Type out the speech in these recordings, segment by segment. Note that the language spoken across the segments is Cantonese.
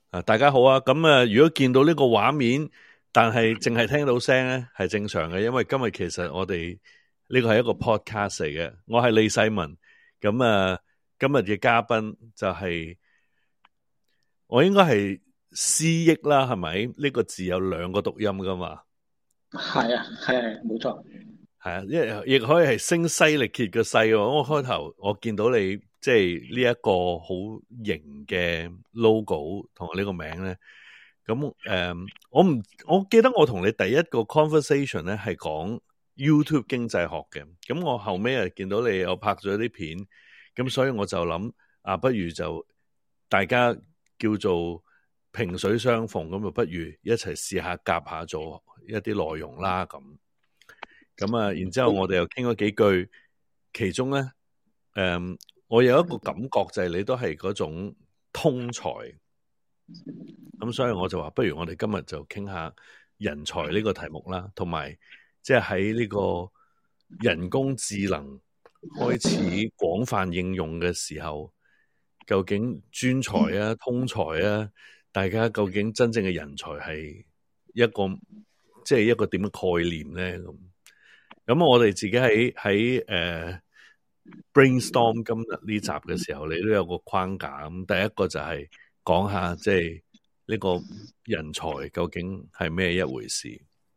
大家好啊！咁如果見到呢個畫面，但係淨係聽到聲咧，係正常嘅，因為今日其實我哋呢個係一個 podcast 嚟嘅。我係李世民，咁今日嘅嘉賓就係、我應該係思憶啦，係咪？呢個字有兩個讀音噶嘛？ 係啊，冇錯。 係啊，亦可以係聲嘶力竭嘅嘶。我開頭我見到你即係呢一個好型嘅 logo 同呢個名咧，咁我記得我同你第一個 conversation 咧係講 YouTube 經濟學嘅，咁我後尾又見到你有拍咗啲片，咁所以我就諗不如就大家叫做萍水相逢，咁就不如一齊試下夾下做一啲內容啦咁。然之後我哋又傾咗幾句，其中咧，我有一個感覺就係你都係嗰種通才，咁所以我就話，不如我哋今日就傾下人才呢個題目啦，同埋即係喺呢個人工智能開始廣泛應用嘅時候，究竟專才啊、通才啊，大家究竟真正嘅人才係一個即係一個點嘅概念咧咁我哋自己喺brainstorm 今日呢集嘅時候，你都有個框架。咁第一個就係講下即係呢個人才究竟係咩一回事。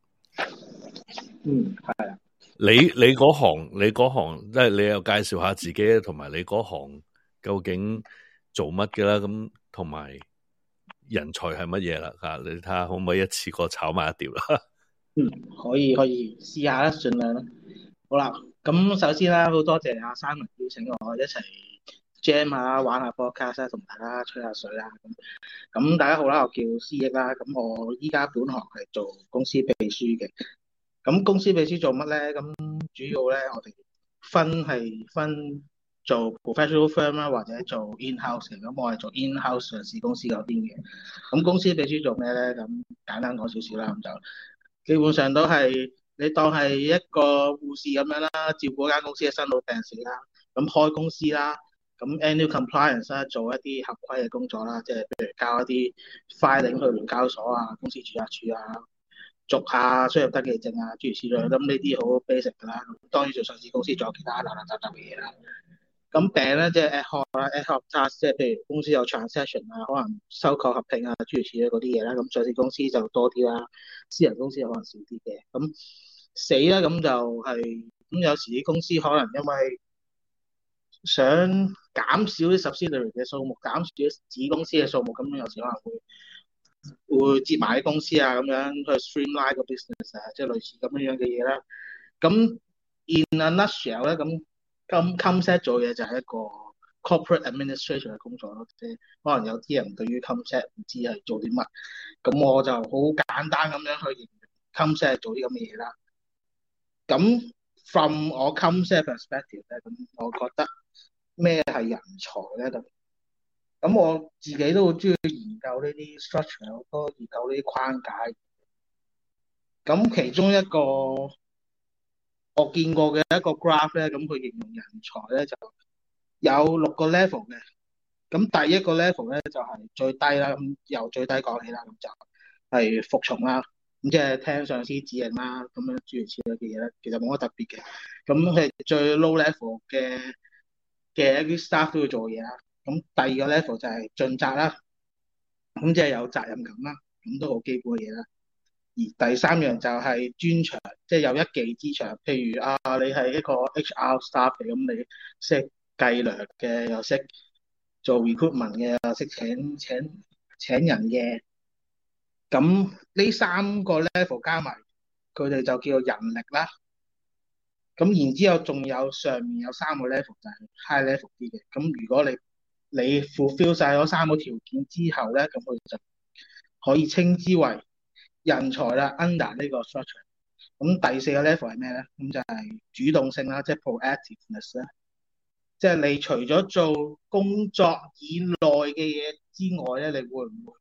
係啊。 你嗰行即係你又介紹下自己，同埋你嗰行究竟做乜嘅啦？咁同埋人才係乜嘢啦？你睇下可唔可以一次過炒埋一碟啦？ 可以試下啦，盡量啦。好啦，咁首先啦，好多謝阿Simon邀請我一齊 jam 下玩下 podcast 啦，同大家吹下水啦。咁大家好啦，我叫思憶啦。咁我依家本行係做公司秘書嘅。咁公司秘書做乜咧？咁主要咧，我哋分做 professional firm 啦，或者做 in-house 嘅。咁我係做 in-house 上市公司嗰邊嘅。咁公司秘書做咩咧？咁簡單講少少啦，咁就基本上都係你當係一個護士咁樣啦，照顧間公司嘅生老病死啦，咁開公司啦，咁 annual compliance 啦，做一啲合規嘅工作啦，即係譬如交一啲 filing 去聯交所啊、公司註冊處啊、續下商業登記證啊，諸如此類。咁呢啲好 basic 㗎啦。咁當然做上市公司仲有其他雜嘅嘢啦。咁病咧即係 ad hoc 啦，ad hoc task 即係譬如公司有 transaction 啊，可能收購合併啊，諸如此類嗰啲嘢啦。咁上市公司就多啲啦，私人公司可能少啲嘅。咁死啦，咁就係咁有時啲公司可能因為想減少啲 subsidiary 嘅數目，減少啲子公司嘅數目，咁有時可能會接埋啲公司啊，咁樣去 streamline 個 business 啊，即係類似咁樣嘅嘢啦。咁 in a nutshell 咧，咁CommSec 做嘢就係一個 corporate administration 嘅工作咯。即係可能有啲人對於 CommSec 唔知係做啲乜，咁我就好簡單咁樣去形容 CommSec 做啲咁嘅嘢啦。咁 from 我 CommSec perspective 咧，咁我覺得咩係人才咧？咁我自己都好中意研究呢啲 structure，好多研究呢啲框架。咁其中一個我見過嘅一個 graph 咧，咁佢形容人才咧就有6個 level 嘅。咁第一個 level 咧就係最低啦，咁由最低講起啦，咁就係服從啦，咁即係聽上司指令啦，咁樣諸如此類嘅嘢咧，其實冇乜特別嘅。咁係最 low level 嘅一啲 staff 都要做嘢啦。咁第二個 level 就係盡責啦，咁即係有責任感啦，咁都好基本嘅嘢啦。而第三樣就係專長，即係有一技之長。譬如你係一個 HR staff 嘅，咁你識計量嘅，又識做 recruitment 嘅，又識請人嘅。咁呢3個 level 加埋，佢哋就叫做人力啦。咁然之後仲有上面有3個 level 就係 high level 啲嘅。咁如果你 fulfill 晒嗰3個條件之後咧，咁佢就可以稱之為人才啦 ，under 呢個 structure。咁第4個 level 係咩咧？咁就係主動性啦，即係 proactiveness 啦。即係你除咗做工作以內嘅嘢之外咧，你會唔會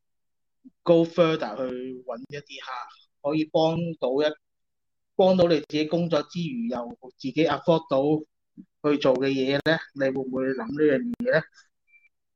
go further 去揾一啲可以幫到你自己工作之餘，又自己 afford 到去做嘅嘢咧？你會唔會諗呢樣嘢咧？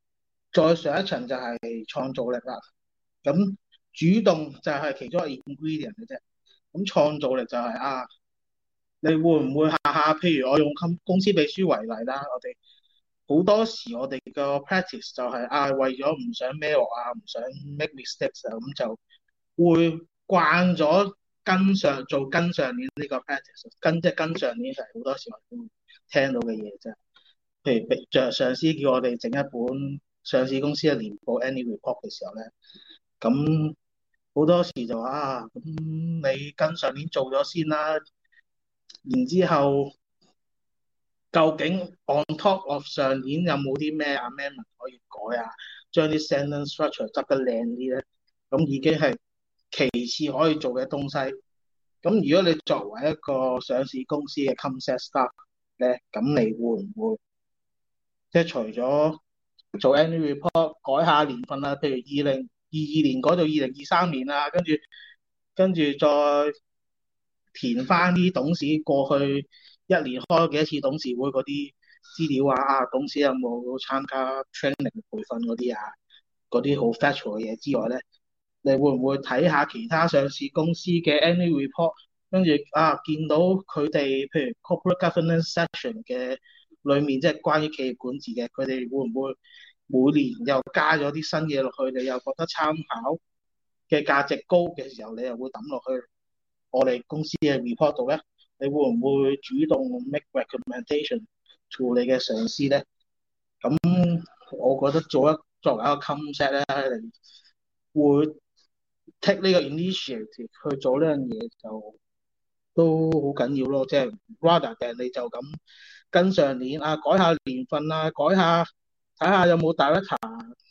再上一層就係創造力啦。咁主動就係其中一個 ingredient 嘅啫。咁創造力就係你會唔會下下，譬如我用公司秘書為例啦，我哋好多時我哋個 practice 就係為咗唔想孭鑊唔想 make mistakes 咁就會慣咗跟上年呢個 practice，跟上年係好多時我都會聽到嘅嘢啫。譬如上司叫我哋整一本上市公司嘅年報 annual report 嘅時候咧，咁好多時就話咁你跟上年做咗先啦，然之後究竟 on top of 上年有冇啲咩 amendment 可以改將啲 sentence structure 執得靚啲咧，咁已經係其次可以做嘅東西。咁如果你作為一個上市公司嘅 concept staff 咧，咁你會唔會即係除咗做 annual report 改下年份譬如2022年改到2023年跟住再填翻啲董事過去一年開咗幾多次董事會嗰啲資料董事有冇參加 training 培訓嗰啲嗰啲好 factual 嘅嘢之外咧，你會唔會睇下其他上市公司嘅 annual report， 跟住見到佢哋譬如 corporate governance section 嘅裏面，即係關於企業管治嘅，佢哋會唔會每年又加咗啲新嘢落去，你又覺得參考嘅價值高嘅時候，你又會抌落去我哋公司嘅 report 度咧？你會唔會主動 make recommendation to 你嘅上司咧？咁我覺得作為一個 concept 咧，你會 take 呢個 initiative 去做呢樣嘢就都好緊要咯。即係 rather than 你就咁跟上年改下年份改下睇下有冇 director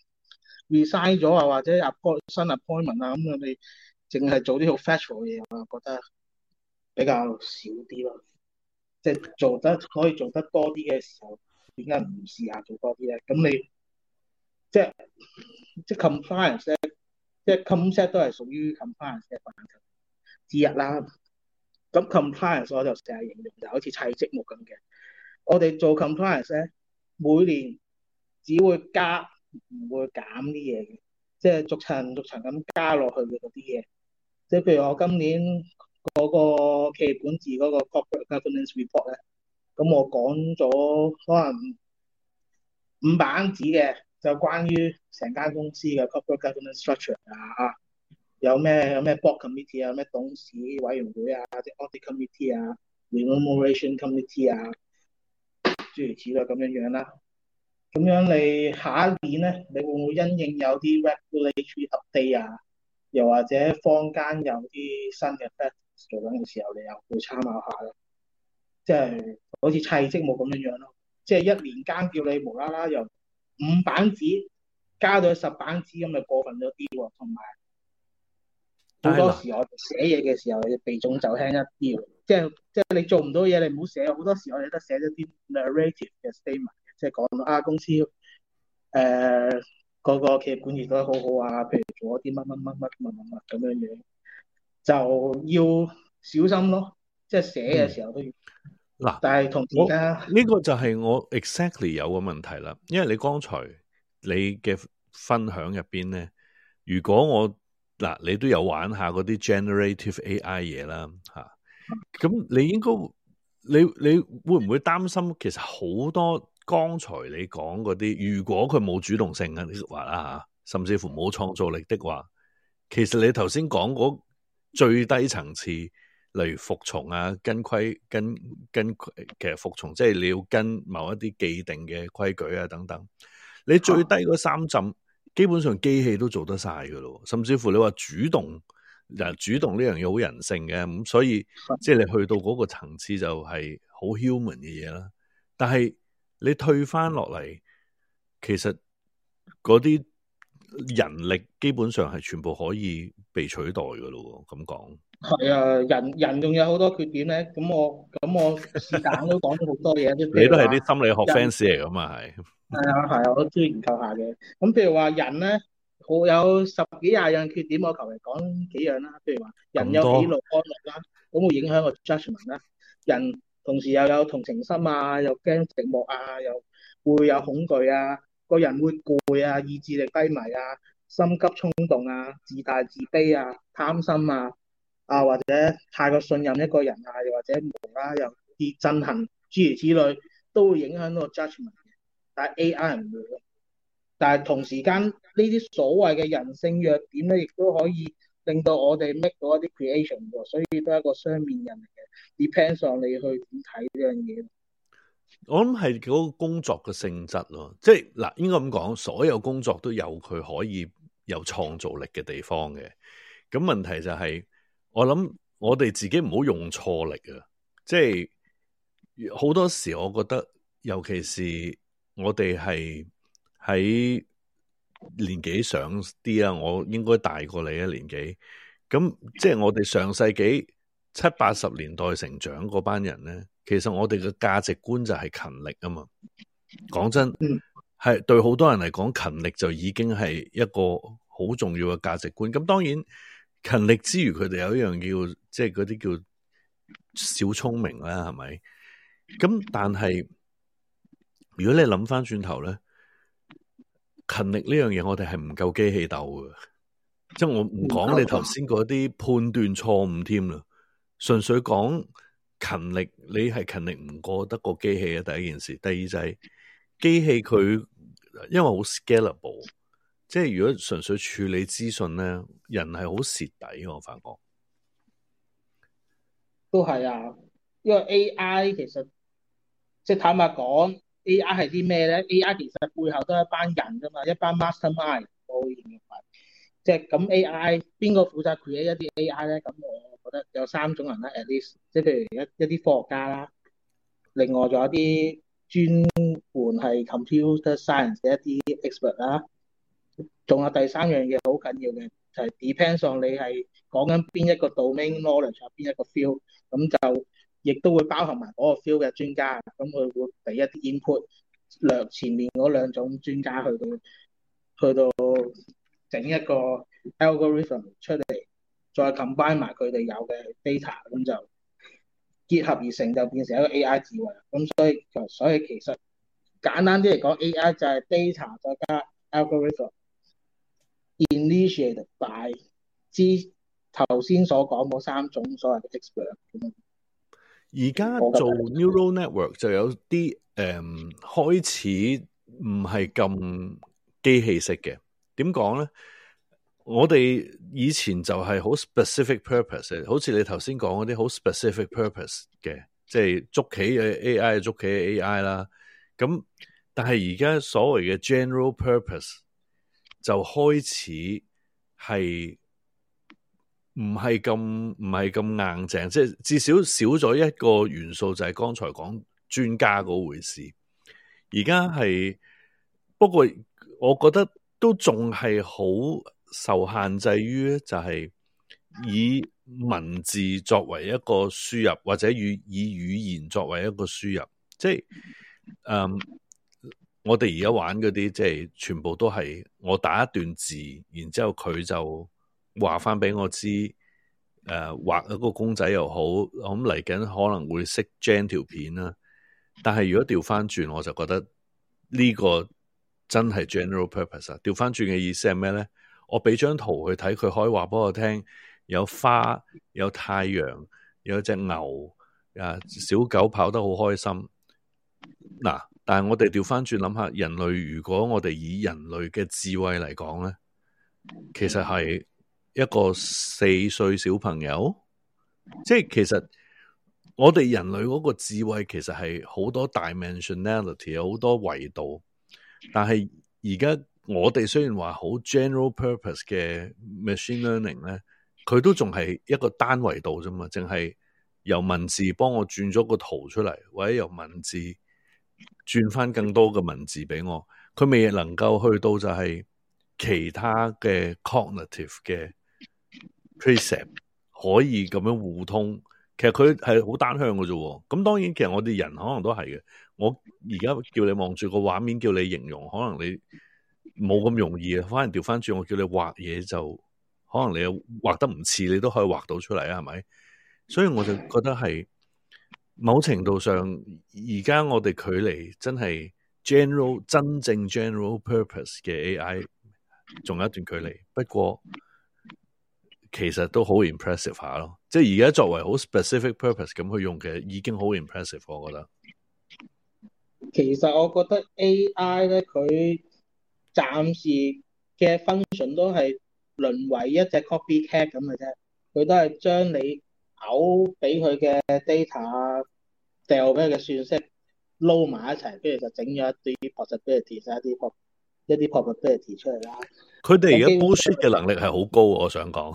resign 咗或者 新 appointment 咁樣，你淨係做啲好 factual 嘅嘢，我覺得比較少啲咯。即係可以做得多啲嘅時候，點解唔試下做多啲咧？咁你即係 compliance 咧，即係 concept 都係屬於 compliance 嘅範疇之一啦。咁 compliance 我就成日形容就好似砌積木咁嘅。我哋做 compliance 咧，每年只會加唔會減啲嘢嘅，即係逐層咁加落去嘅嗰啲嘢。即係譬如我今年嗰個企業管治嗰個 corporate governance report 咧，咁我講咗可能5版紙嘅，就關於成間公司嘅 corporate governance structure 有咩 board committee 有咩董事委員會即 audit committee remuneration committee 諸如此類咁樣啦。咁樣你下一年咧，你會唔會因應有啲 regulatory update又或者坊間有啲新嘅 practice 做緊嘅時候，你又會參考下咯。即係好似砌積木咁樣咯。即係一年間叫你無啦啦由5版紙加到10版紙，咁咪過分咗啲喎。同埋好多時我哋寫嘢嘅時候，你避重就輕一啲喎。即係你做唔到嘢，你唔好寫。好多時我哋都寫咗啲 narrative 嘅 statement，即係講到公司個企業管治得好好譬如做咗啲乜咁樣樣，就要小心咯。即係寫嘅時候都要。但係同而家呢個就係我 exactly 有個問題啦。因為你剛才你嘅分享入邊咧，如果你都有玩下嗰啲 generative AI 嘢啦咁你應該你會唔會擔心其實好多剛才你講嗰啲，如果佢冇主動性嘅話啦甚至乎冇創造力的話，其實你頭先講嗰最低層次，例如服從跟其實服從即係你要跟某一啲既定嘅規矩等等，你最低嗰3浸基本上機器都做得晒噶咯。甚至乎你話主動呢樣嘢好人性嘅，咁所以即係你去到嗰個層次就係好 human 嘅嘢啦。但係你退翻落嚟，其實嗰啲人力基本上係全部可以被取代噶咯。咁講係人仲有好多缺點咧。咁我是但都講咗好多嘢。 你都係啲心理學 fans 嚟噶嘛？ 係我都中意研究下嘅。咁譬如話人咧，好有10幾20樣缺點，我求其講幾樣啦。譬如話人有喜怒哀樂啦，咁會影響個 judgment 啦。人同時又有同情心又驚寂寞又會有恐懼個人會攰啊、意志力低迷啊、心急衝動啊、自大自卑啊、貪心啊或者太過信任一個人啊，又或者無啦有啲憎恨諸如此類，都會影響到個 judgment 嘅。但係 AI 唔會咯。但係同時間呢啲所謂嘅人性弱點咧，亦都可以令到我哋 make 到一啲 creation 喎，所以都係一個雙面人嚟嘅。Depends on 你去點睇呢樣嘢。 我諗係嗰個工作嘅性質咯，即係嗱，應該咁講，所有工作都有佢可以有創造力嘅地方嘅。咁問題就係，我諗我哋自己唔好用錯力啊！即係好多時，我覺得，尤其是我哋係喺年紀上啲啊，我應該大過你一年紀。咁即係我哋上世紀70-80年代成長嗰班人咧，其實我哋嘅價值觀就係勤力啊嘛。講真，係對好多人嚟講，勤力就已經係一個好重要嘅價值觀。咁當然勤力之餘，佢哋有一樣叫即係嗰啲叫小聰明啦，係咪？咁但係如果你諗翻轉頭咧，勤力呢樣嘢我哋係唔夠機器鬥嘅，即係我唔講你頭先嗰啲判斷錯誤添啦，純粹講勤力，你係勤力唔過得個機器嘅第一件事。第二就係機器佢因為好 scalable， 即係如果純粹處理資訊咧，人係好蝕底，我發覺都係啊，因為 AI 其實即係坦白講，AI 係啲咩咧？AI 其實背後都係一班人㗎嘛，一班 mastermind 我會認為。即係咁 AI 邊個負責 create 一啲 AI 咧？咁我覺得有3種人啦 ，at least，即係譬如一啲科學家啦，另外仲有啲專門係 computer science 嘅一啲 expert 啦，仲有第3樣嘢好緊要嘅，就係 depends on 你係講緊邊一個 domain knowledge 啊，邊一個 field，咁就亦都會包含埋嗰個 field 嘅專家，咁佢會俾一啲 input，前面嗰2種專家去到整一個 algorithm 出嚟，再 combine 埋佢哋有嘅 data，咁就結合而成，就變成一個 AI 智慧。咁所以其實簡單啲嚟講 ，AI 就係 data 再加 algorithm initiated by 頭先所講嗰3種所謂嘅 expert。 而家做 neural network 就有啲開始唔係咁機器式嘅。點講咧？我哋以前就係好 specific purpose， 好似你頭先講嗰啲好 specific purpose 嘅，即係捉棋嘅 AI 捉棋嘅 AI 啦。咁但係而家所謂嘅 general purpose 就開始係唔係咁硬淨，即係至少少咗一個元素，就係剛才講專家嗰回事。而家係不過，我覺得都仲係好受限制於，就係以文字作為一個輸入，或者以語言作為一個輸入。即係我哋而家玩嗰啲，即係全部都係我打一段字，然之後佢就話翻俾我知，畫一個公仔又好，咁嚟緊可能會識 gen 條片啦。但係如果調翻轉，我就覺得呢個真係 general purpose 啊！調翻轉嘅意思係咩咧？我俾張圖去睇，佢可以話俾我聽，有花，有太陽，有隻牛，小狗跑得好開心。嗱，但係我哋調翻轉諗下，人類如果我哋以人類嘅智慧嚟講咧，其實係一個4歲小朋友，即係其實我哋人類嗰個智慧其實係好多 dimensionality， 有好多維度。但係而家我哋雖然話好 general purpose 嘅 machine learning 咧，佢都仲係一個單維度啫嘛，淨係由文字幫我轉咗個圖出嚟，或者由文字轉翻更多嘅文字俾我，佢未能夠去到就係其他嘅 cognitive 嘅 precept 可以咁樣互通。其實佢係好單向嘅啫。咁當然其實我哋人可能都係嘅。我而家叫你望住個畫面，叫你形容，可能你冇咁容易啊。反而調翻轉，我叫你畫嘢，就可能你畫得唔似，你都可以畫到出嚟啊，係咪？所以我就覺得係某程度上，而家我哋距離真係真正 general purpose 嘅 AI 仲有一段距離，不過其實都好 impressive 下咯。即係而家作為好 specific purpose 咁去用嘅，已經好 impressive，我覺得。 其實我覺得 AI 咧，佢暫時嘅 function 都係淪為一隻 copycat 咁嘅啫。佢都係將你嘔俾佢嘅 data 掉俾佢嘅算式撈埋一齊，跟住就整咗一啲 possibility 一啲 probability 出嚟啦。 佢哋而家 bullshit 嘅能力係好高，我想講。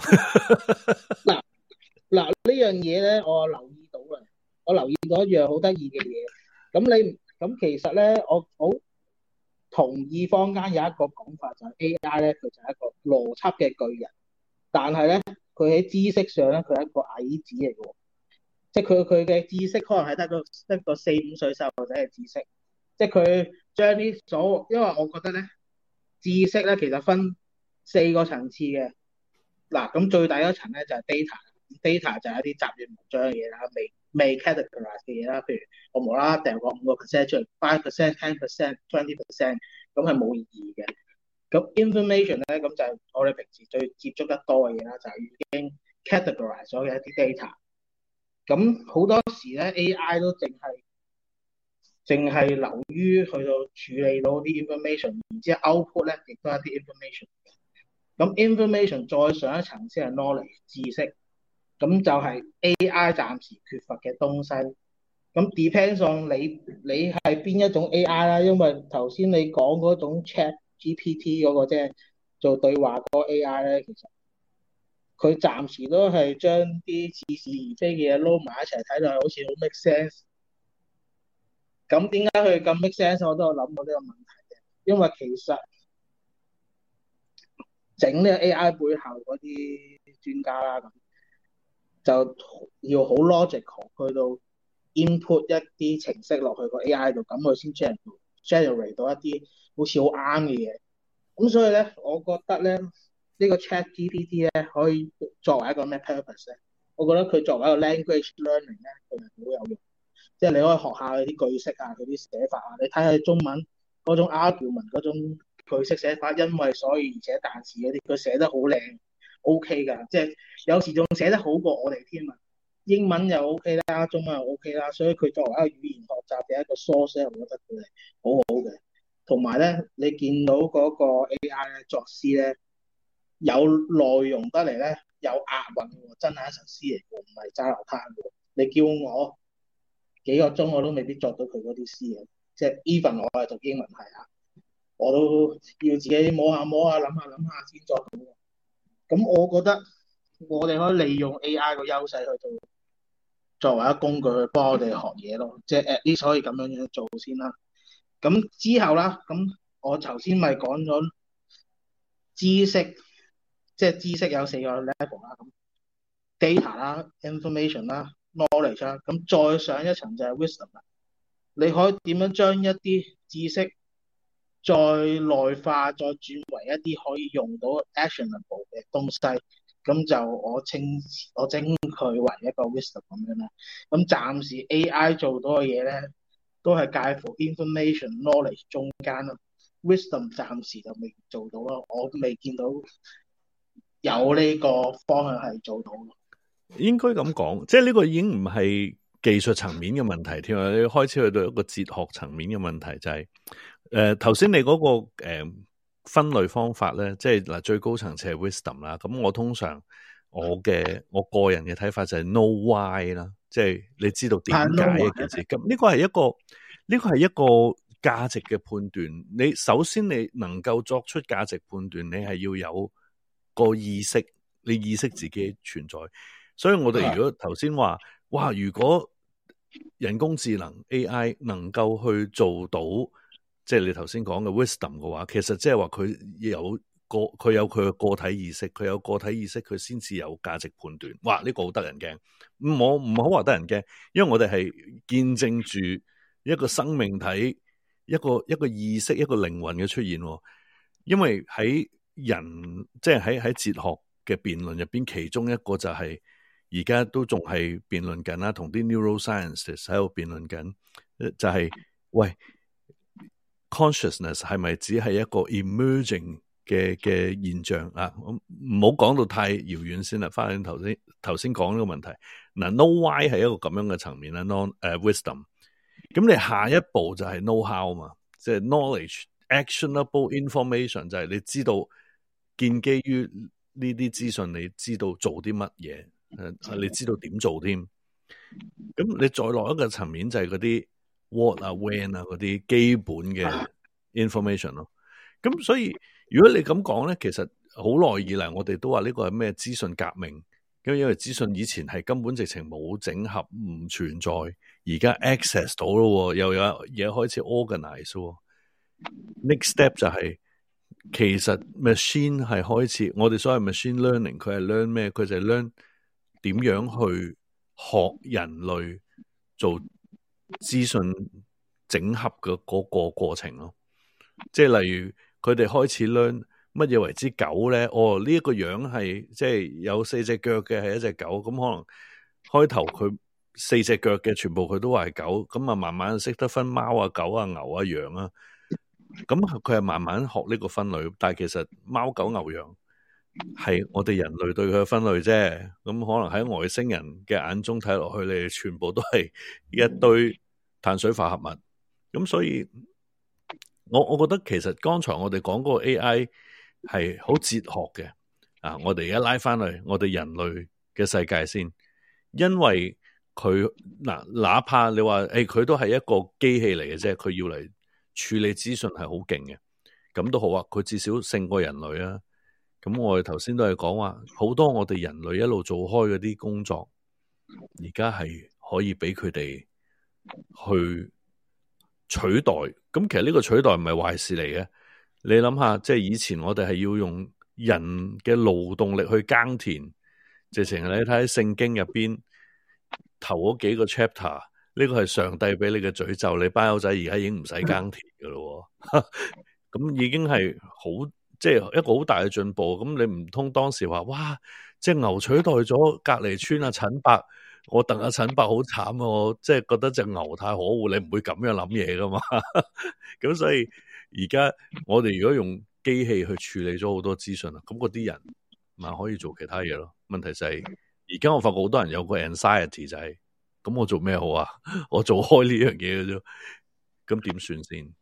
嗱呢樣嘢咧，我留意到啦。我留意到一樣好得意嘅嘢。咁其實咧，我好同意坊間有一個講法，就係 AI 咧，佢就係一個邏輯嘅巨人，但係咧，佢喺知識上咧，佢係一個矮子嚟嘅喎。即係佢嘅知識可能係得個4、5歲細路仔嘅知識。即係佢將啲因為我覺得咧，知識咧其實分4個層次嘅。嗱，咁最大一層咧就係 data 就係一啲雜亂無章嘅嘢啦，未 categorize 嘅嘢啦。譬如我無啦啦掉個5% 出嚟，5%、10%、20%，咁係冇意義嘅。咁 information 咧，咁就係我哋平時最接觸得多嘅嘢啦，就係已經 categorize 咗嘅一啲 data。咁好多時咧 AI 都淨係流於去到處理到啲 information， 然之後 output 咧亦都係一啲 information。咁 information 再上一層先係 knowledge 知識，咁就係 AI 暫時缺乏嘅東西。咁 depends on 你係邊一種 AI 啦，因為頭先你講嗰種 Chat GPT 嗰個即係做對話嗰個 AI 咧，其實佢暫時都係將啲似是而非嘅嘢撈埋一齊睇到好似好 make sense。咁點解佢咁 make sense？ 我都有諗過呢個問題嘅，因為其實整呢個 AI 背後嗰啲專家啦，咁就要好 logical 去到 input 一啲程式落去個 AI 度，咁佢先 generate 到一啲好似好啱嘅嘢。咁所以咧，我覺得咧呢個 Chat GPT 咧可以作為一個咩 purpose 咧？我覺得佢作為一個 language learning 咧，佢係好有用。即係你可以學下佢啲句式啊，佢啲寫法啊，你睇下中文嗰種 argument 嗰種句式寫法，因為所以而且但是嗰啲，佢寫得好靚 ，OK 㗎。即係有時仲寫得好過我哋添啊！英文又 OK 啦，中文又 OK 啦，所以佢作為一個語言學習嘅一個 source，我覺得佢係好好嘅。同埋咧，你見到嗰個 AI 咧作詩咧有內容得嚟咧，有押韻喎，真係一首詩嚟嘅，唔係揸流攤嘅。你叫我幾個鐘我都未必作到佢嗰啲詩嘅，即係 even 我係讀英文系啊，我都要自己摸下諗下先作到。咁我覺得我哋可以利用 AI 個優勢去做作為一個工具去幫我哋學嘢咯，即係 at least 可以咁樣做先啦。咁之後啦，咁我頭先咪講咗知識，即係知識有4個 level 啦，咁 data 啦、information 啦、knowledge 啦，咁再上一層就係 wisdom 啦。你可以點樣將一啲知識再內化，再轉為一啲可以用到 actionable 嘅東西，咁就我稱佢為一個 wisdom 咁樣啦。咁暫時 AI 做到嘅嘢咧，都係介乎 information knowledge 中間咯。wisdom 暫時就未做到咯，我未見到有呢個方向係做到咯。 應該咁講，即係呢個已經唔係技術層面嘅問題添啊！你開始去到一個哲學層面嘅問題，就係頭先你嗰個分類方法咧，即係嗱最高層次係 wisdom 啦。咁我通常我個人嘅睇法就係 know why 啦，即係你知道點解一件事。咁呢個係一個價值嘅判斷。你首先你能夠作出價值判斷，你係要有個意識，你意識自己存在。所以我哋如果頭先話，哇，如果人工智能 AI 能夠去做到，即係你頭先講嘅 wisdom 嘅話，其實即係話佢有佢嘅個體意識，佢有個體意識，佢先至有價值判斷。哇，呢個好得人驚。我唔好話得人驚，因為我哋係見證住一個生命體、一個意識、一個靈魂嘅出現。因為喺人即係喺哲學嘅辯論入邊，其中一個就係而家都仲係辯論緊啦，同啲 neuroscientists 喺度辯論緊，就係喂， consciousness 係咪只係一個 emerging 嘅現象啊？唔好講到太遙遠先啦，翻去頭先講呢個問題。嗱，know why 係一個咁樣嘅層面啦，wisdom。咁你下一步就係 know how 嘛，即係 knowledge、actionable information， 就係你知道建基於呢啲資訊，你知道做啲乜嘢，你知道點做添。咁你再落一個層面就係嗰啲 what 啊、when 啊嗰啲基本嘅 information 咯。咁所以如果你咁講咧，其實好耐以嚟我哋都話呢個係咩資訊革命，因為資訊以前係根本直情冇整合，唔存在，而家 access 到咯，又有嘢開始 organize。Next step 就係其實 machine 係開始，我哋所謂 machine learning， 佢係 learn 咩？佢就係 learn 點樣去學人類做資訊整合嘅嗰個過程咯。即係例如佢哋開始 learn 乜嘢為之狗咧？呢一個樣係即係有4隻腳嘅係一隻狗，咁可能開頭佢4隻腳嘅全部佢都話係狗，咁啊慢慢識得分貓啊、狗啊、牛啊、羊啊，咁佢係慢慢學呢個分類。但係其實貓狗牛羊係我哋人類對佢嘅分類啫，咁可能喺外星人嘅眼中睇落去，你哋全部都係一堆碳水化合物。咁所以我覺得其實剛才我哋講嗰個 AI 係好哲學嘅啊！我哋而家拉翻去我哋人類嘅世界先，因為佢哪怕你話佢都係一個機器嚟嘅啫，佢要嚟處理資訊係好勁嘅，咁都好啊，佢至少勝過人類啊。咁我哋頭先都係講話，好多我哋人類一路做開嗰啲工作，而家係可以俾佢哋去取代。咁其實呢個取代唔係壞事嚟嘅。你諗下，即係以前我哋係要用人嘅勞動力去耕田，直情你睇喺聖經入邊頭嗰幾個 chapter， 呢個係上帝俾你嘅詛咒，你班友仔而家已經唔使耕田噶咯，咁已經係好。即係一個好大嘅進步，咁你唔通當時話哇，即係牛取代咗隔離村阿陳伯，我戥阿陳伯好慘，我即係覺得隻牛太可惡，你唔會咁樣諗嘢噶嘛？咁所以而家我哋如果用機器去處理咗好多資訊啦，咁嗰啲人咪可以做其他嘢咯。問題就係而家我發覺好多人有個 anxiety 就係，咁我做咩好啊？我做開呢樣嘢嘅啫，咁點算先？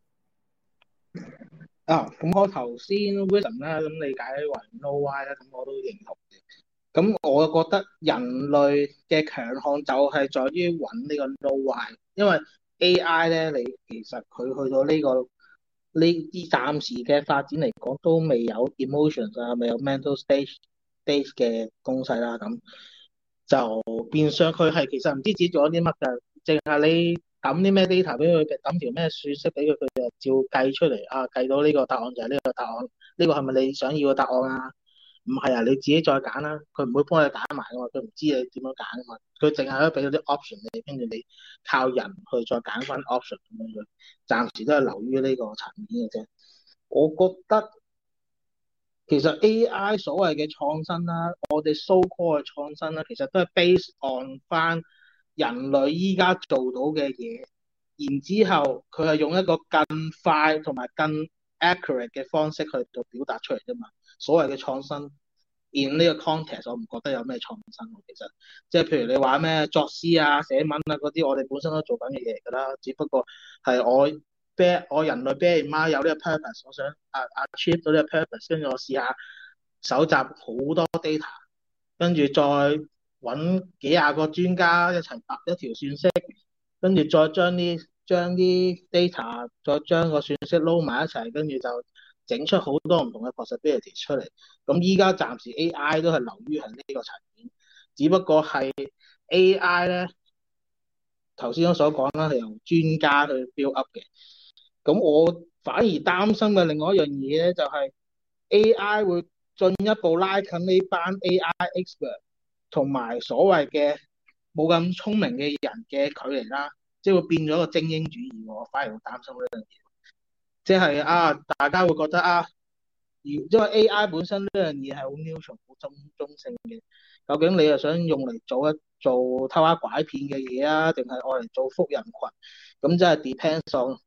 咁我頭先 Wilson 啦，咁理解為 know why 啦，咁我都認同嘅。咁我覺得人類嘅強項就係在於揾呢個 know why，因為 AI 咧，你其實佢去到呢啲暫時嘅發展嚟講，都未有 emotions 啊，未有 mental stage 嘅東西啦，咁就變相佢係其實唔知自己做咗啲乜㗎，淨係你抌啲咩 data 俾佢，抌條咩算式俾佢，佢就照計出嚟啊，計到呢個答案就係呢個答案，呢個係咪你想要嘅答案啊？唔係啊，你自己再揀啦，佢唔會幫你揀埋噶嘛，佢唔知你點樣揀噶嘛，佢淨係可以俾到啲 option 你，跟住你靠人去再揀翻 option 咁樣樣，暫時都係流於呢個層面嘅啫。我覺得其實 AI 所謂嘅創新啦，我哋 so call 嘅創新啦，其實都係 based on 翻人類依家做到嘅嘢，然之後佢係用一個更快同埋更 accurate 嘅方式去到表達出嚟啫嘛。所謂嘅創新 in 呢個 context， 我唔覺得有咩創新喎。其實即係譬如你話咩作詩啊、寫文啊嗰啲，我哋本身都做緊嘅嘢㗎啦，只不過係我人類 bear in mind 有呢個 purpose， 我想achieve 到呢個 purpose， 跟住我試下搜集好多 data， 跟住再揾幾廿個專家一齊搭一條算式，跟住再將啲 data 再將個算式撈埋一齊，跟住就整出好多唔同嘅 possibility 出嚟。咁依家暫時 AI 都係流於係呢個層面，只不過係 AI 咧頭先我所講啦，係由專家去 build up 嘅。咁我反而擔心嘅另外一樣嘢咧，就係 AI 會進一步拉近呢班 AI expert 同埋所謂嘅冇咁聰明嘅人嘅距離啦，即係會變咗一個精英主義。我反而會擔心呢樣嘢，即係大家會覺得因為 AI 本身呢樣嘢係好 neutral 好中性嘅，究竟你係想用嚟做偷呃拐騙嘅嘢啊，定係愛嚟做福人群？咁即係 depends on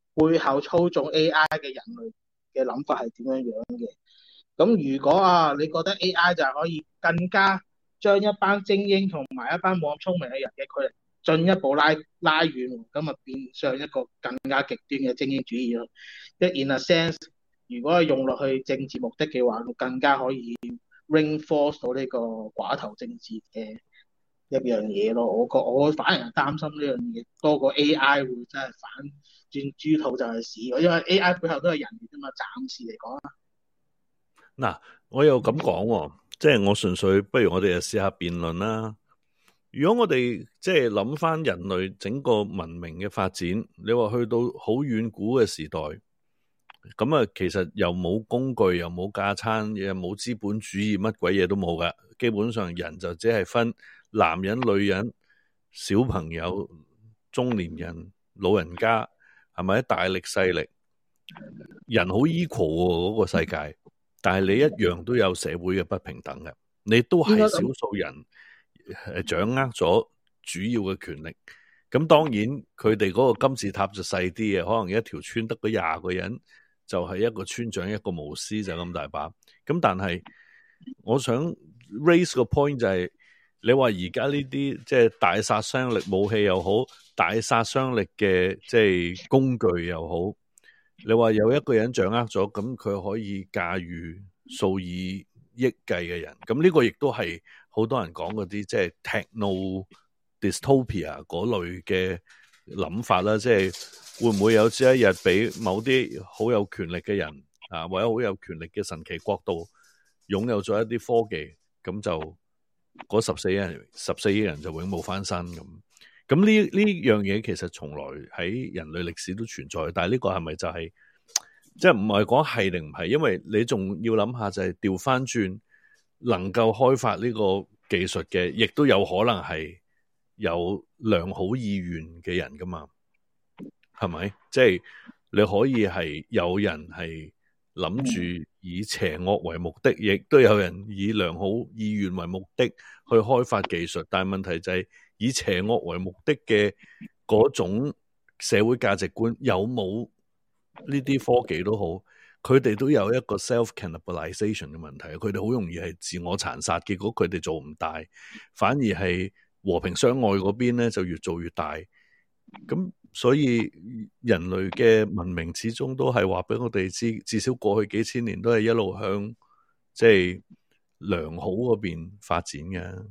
背後操縱 AI 嘅人類嘅諗法係點樣樣嘅。咁如果你覺得 AI 就係可以更加將一班精英同埋一班冇咁聰明嘅人嘅距離進一步拉遠，咁啊變相一個更加極端嘅精英主義咯。即係 in a sense，如果係用落去政治目的嘅話，更加可以 reinforce 到呢個寡頭政治嘅一樣嘢咯。我反而係擔心呢樣嘢多過 AI 會真係反轉豬肚就係屎，因為 AI 背後都係人嚟啫嘛。暫時嚟講。 嗱，我又咁講喎，即係我純粹，不如我哋就試下辯論啦。如果我哋即係諗翻人類整個文明嘅發展，你話去到好遠古嘅時代，咁啊，其實又冇工具，又冇架撐，又冇資本主義，乜鬼嘢都冇噶。基本上人就只係分男人、女人、小朋友、中年人、老人家，係咪大力細力？人好 equal 喎，嗰個世界。但係你一樣都有社會嘅不平等嘅，你都係少數人掌握咗主要嘅權力。咁當然佢哋嗰個金字塔就細啲嘅，可能一條村得嗰20個人，就係一個村長一個巫師就咁大把。咁但係我想 raise 個 point 就係，你話而家呢啲即係大殺傷力武器又好，大殺傷力嘅即係工具又好。你話有一個人掌握咗，咁佢可以駕馭數以億計嘅人，咁呢個亦都係好多人講嗰啲即係 techno dystopia 嗰類嘅諗法啦。即係會唔會有朝一日俾某啲好有權力嘅人啊，或者好有權力嘅神奇國度擁有咗一啲科技，咁就嗰14億人就永冇翻身咁。咁呢樣嘢其實從來喺人類歷史都存在，但係呢個係咪就係即係唔係講係定唔係？因為你仲要諗下就係調翻轉，能夠開發呢個技術嘅，亦都有可能係有良好意願嘅人噶嘛？係咪？即係你可以係有人係諗住以邪惡為目的，亦都有人以良好意願為目的去開發技術，但係問題就係，以邪惡為目的嘅嗰種社會價值觀有冇呢啲科技都好，佢哋都有一個 self-cannibalization 嘅問題，佢哋好容易係自我殘殺，結果佢哋做唔大，反而係和平相愛嗰邊咧就越做越大。咁所以人類嘅文明始終都係話俾我哋知，至少過去幾千年都係一路向即係良好嗰邊發展嘅。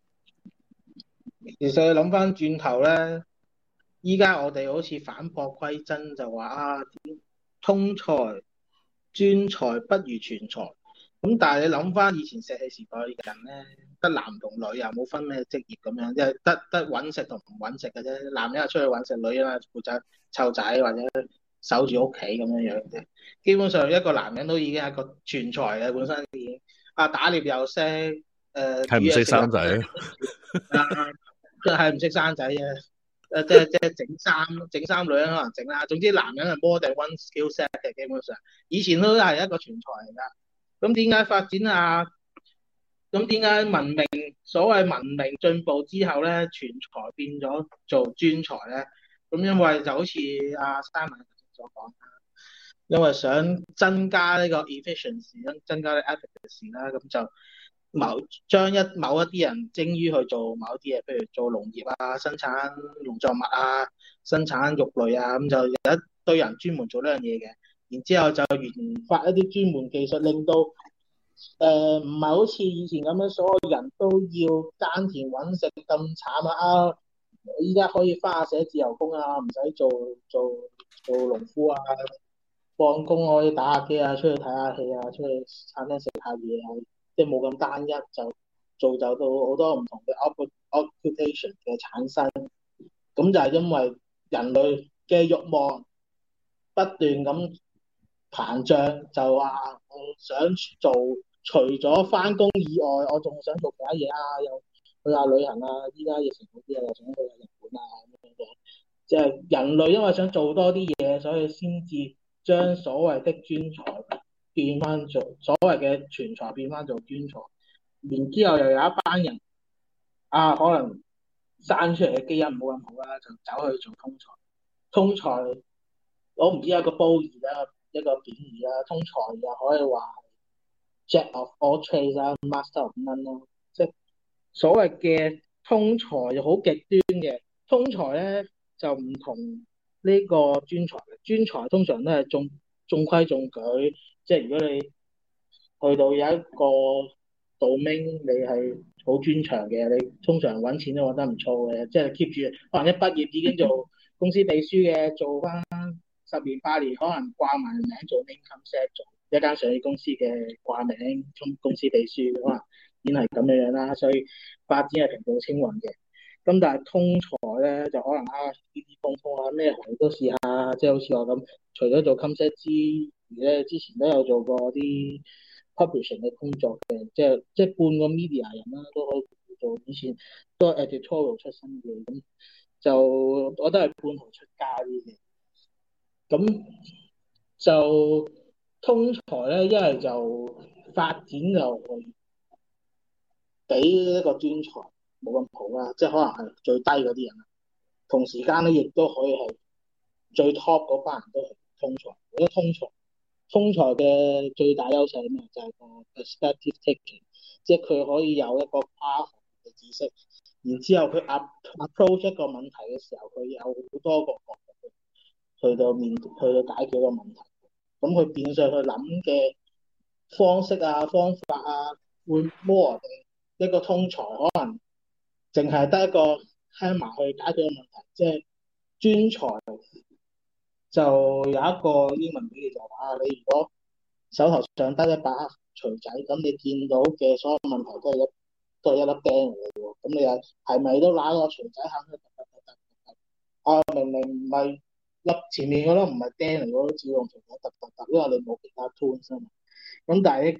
其實諗翻轉頭咧，依家我哋好似反璞歸真，就話通才專才不如全才。咁但係你諗翻以前石器時代嘅人咧，得男同女又冇分咩職業咁樣，即係得揾食同唔揾食嘅啫。男人係出去揾食，女人係負責湊仔或者守住屋企咁樣樣啫。基本上一個男人都已經係個全才嘅，本身已經打獵又識， 係唔識生仔佢係唔識生仔嘅，即係整衫女人可能整啦。總之男人係 more than one skill set 嘅，基本上以前都係一個全才嚟噶。咁點解發展啊？咁點解所謂文明進步之後咧，全才變咗做專才咧？咁因為就好似阿 Simon 所講啦，因為想增加呢個 efficiency， 增加啲 efficacy 啦，咁就將某一啲人精於去做某啲嘢，譬如做農業啊、生產農作物啊、生產肉類啊，咁就有一堆人專門做呢樣嘢嘅。然之後就研發一啲專門技術，令到唔係好似以前咁樣，所有人都要耕田揾食咁慘啊！依家可以翻下寫自由工啊，唔使做農夫啊，放工可以打下機啊，出去睇下戲啊，出去餐廳食下嘢啊，即係冇咁單一，就造就到好多唔同嘅 occupation 嘅產生。咁就係因為人類嘅慾望不斷咁膨脹，就話我想做，除咗翻工以外，我仲想做其他嘢啊，又去下旅行啊，依家疫情好啲啊，又想去下日本啊咁樣嘅。即係人類因為想做多啲嘢，所以先至將所謂的專才變翻做所謂嘅全才變翻做專才，然之後又有一班人可能生出嚟嘅基因冇咁好啦，就走去做通才。通才我唔知有個褒義啦，一個貶義啦，通才又可以話 Jack of all trades 啦，Master of none 咯，即係所謂嘅通才就好極端嘅，通才咧就唔同呢個專才嘅，專才通常都係中規中矩，即係如果你去到有一個 domain 你係好專長嘅，你通常揾錢都揾得唔錯嘅，即係 keep 住可能一畢業已經做公司秘書嘅，做翻10年8年，可能掛埋名做 income set，做一間上市公司嘅掛名公司秘書，可能已經係咁樣樣啦，所以發展係平步青雲嘅。咁但係通才咧就可能跌跌碰碰啊，咩行業都試下，即係好似我咁，除咗做 income set 之餘咧，之前都有做過啲 publishing 嘅工作嘅，即係半個 media 人啦，都可以做。以前都係 editorial 出身嘅，咁就我都係半途出家啲嘅。咁就通才咧，一係就發展就比一個專才冇咁好啦，即係可能係最低嗰啲人啦。同時間咧，亦都可以係最 top 嗰班人都係通才。我覺得通才嘅最大優勢係咩？就係個 perspective taking，即係佢可以有一個跨行嘅知識，然之後佢 approach 一個問題嘅時候，佢有好多個角度去到解決個問題。咁佢變相去諗嘅方式啊、方法啊，會 more 一個通才可能淨係得一個 hammer 去解決個問題，即係專才就有一個英文比喻就話你如果手頭上得一把錘仔，咁你見到嘅所有問題都係一粒釘嚟嘅喎，咁你又係咪都揦個錘仔肯去突突突突突？明明唔係粒前面嗰粒唔係釘嚟，我都照用錘仔突突突，因為你冇其他 tools 啊嘛。咁但係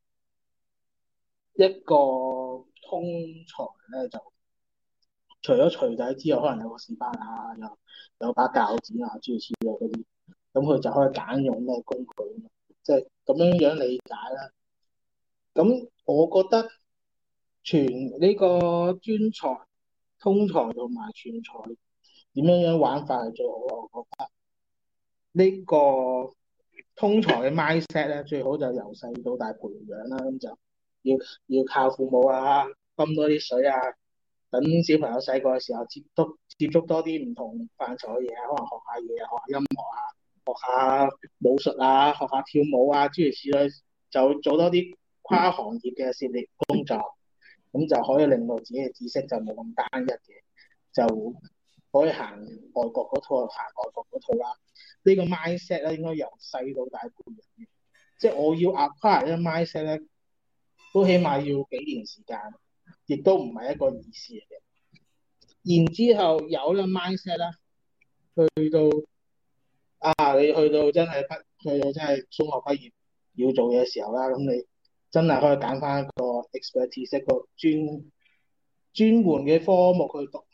一個通才咧，就除咗錘仔之外，可能有個士巴拿，有把鉸剪啊，諸如此類嗰啲，咁佢就可以揀用咩工具，即係咁樣樣理解啦。咁我覺得全呢個專才、通才同埋全才點樣樣玩法係最好啊！我覺得呢個通才嘅 mindset 咧，最好就由細到大培養啦。咁就要靠父母啊，泵多啲水啊，等小朋友細個嘅時候接觸多啲唔同範疇嘅嘢啊，可能學下嘢啊，學下音樂啊，學下武術啊，學下跳舞啊，諸如此類，就做多啲跨行業嘅涉獵工作，咁就可以令到自己嘅知識就冇咁單一嘅，就可以行外國嗰套，行外國嗰套啦。呢個 mindset 咧應該由細到大培養嘅，即係我要 acquire 呢個 mindset 咧，都起碼要幾年時間，亦都唔係一個易事嚟嘅。然之後有呢個 mindset 啦，去到你去到真係中學畢業要做嘢嘅時候啦，咁你真係可以揀翻一個 expertise 一個專門嘅科目去讀。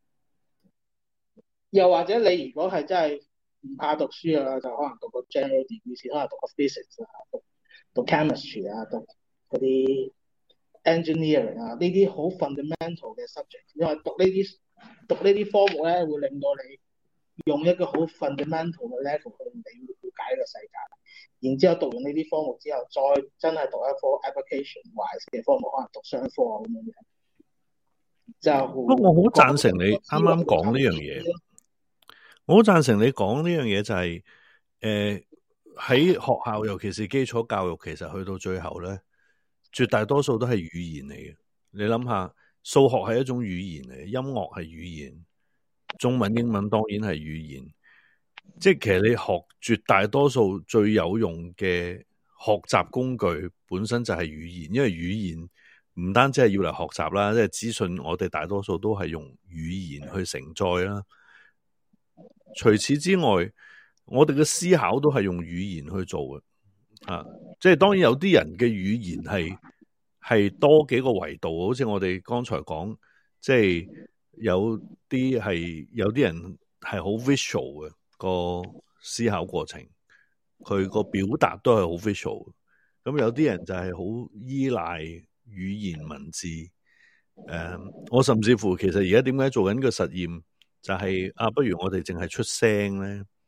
又或者你如果係真係唔怕讀書啊，就可能讀個 general degree 先，可能讀個 physics 啊，讀 chemistry 啊，讀嗰啲 engineering 啊，呢啲好 fundamental 嘅 subject，因為讀呢啲科目咧，會令到你用一個好 fundamental 嘅 level 去了解呢個世界。然之後讀完呢啲科目之後，再真係讀一科 application wise 嘅科目，可能讀商科咁樣樣。就不過我好贊成你啱啱講呢樣嘢，我好贊成你講呢樣嘢就係喺學校，尤其是基礎教育，其實去到最後咧，絕大多數都係語言嚟嘅。你諗下，數學係一種語言嚟嘅，音樂係語言，中文、英文當然係語言。即係其實你學絕大多數最有用嘅學習工具本身就係語言，因為語言唔單止係要嚟學習啦，即係資訊我哋大多數都係用語言去承載啦。除此之外，我哋嘅思考都係用語言去做嘅，即係當然有啲人嘅語言係多幾個維度，好似我哋剛才講，即係有啲人係好 visual 嘅個思考過程，佢個表達都係好 visual。咁有啲人就係好依賴語言文字。我甚至乎其實而家點解做緊個實驗，就係不如我哋淨係出聲咧。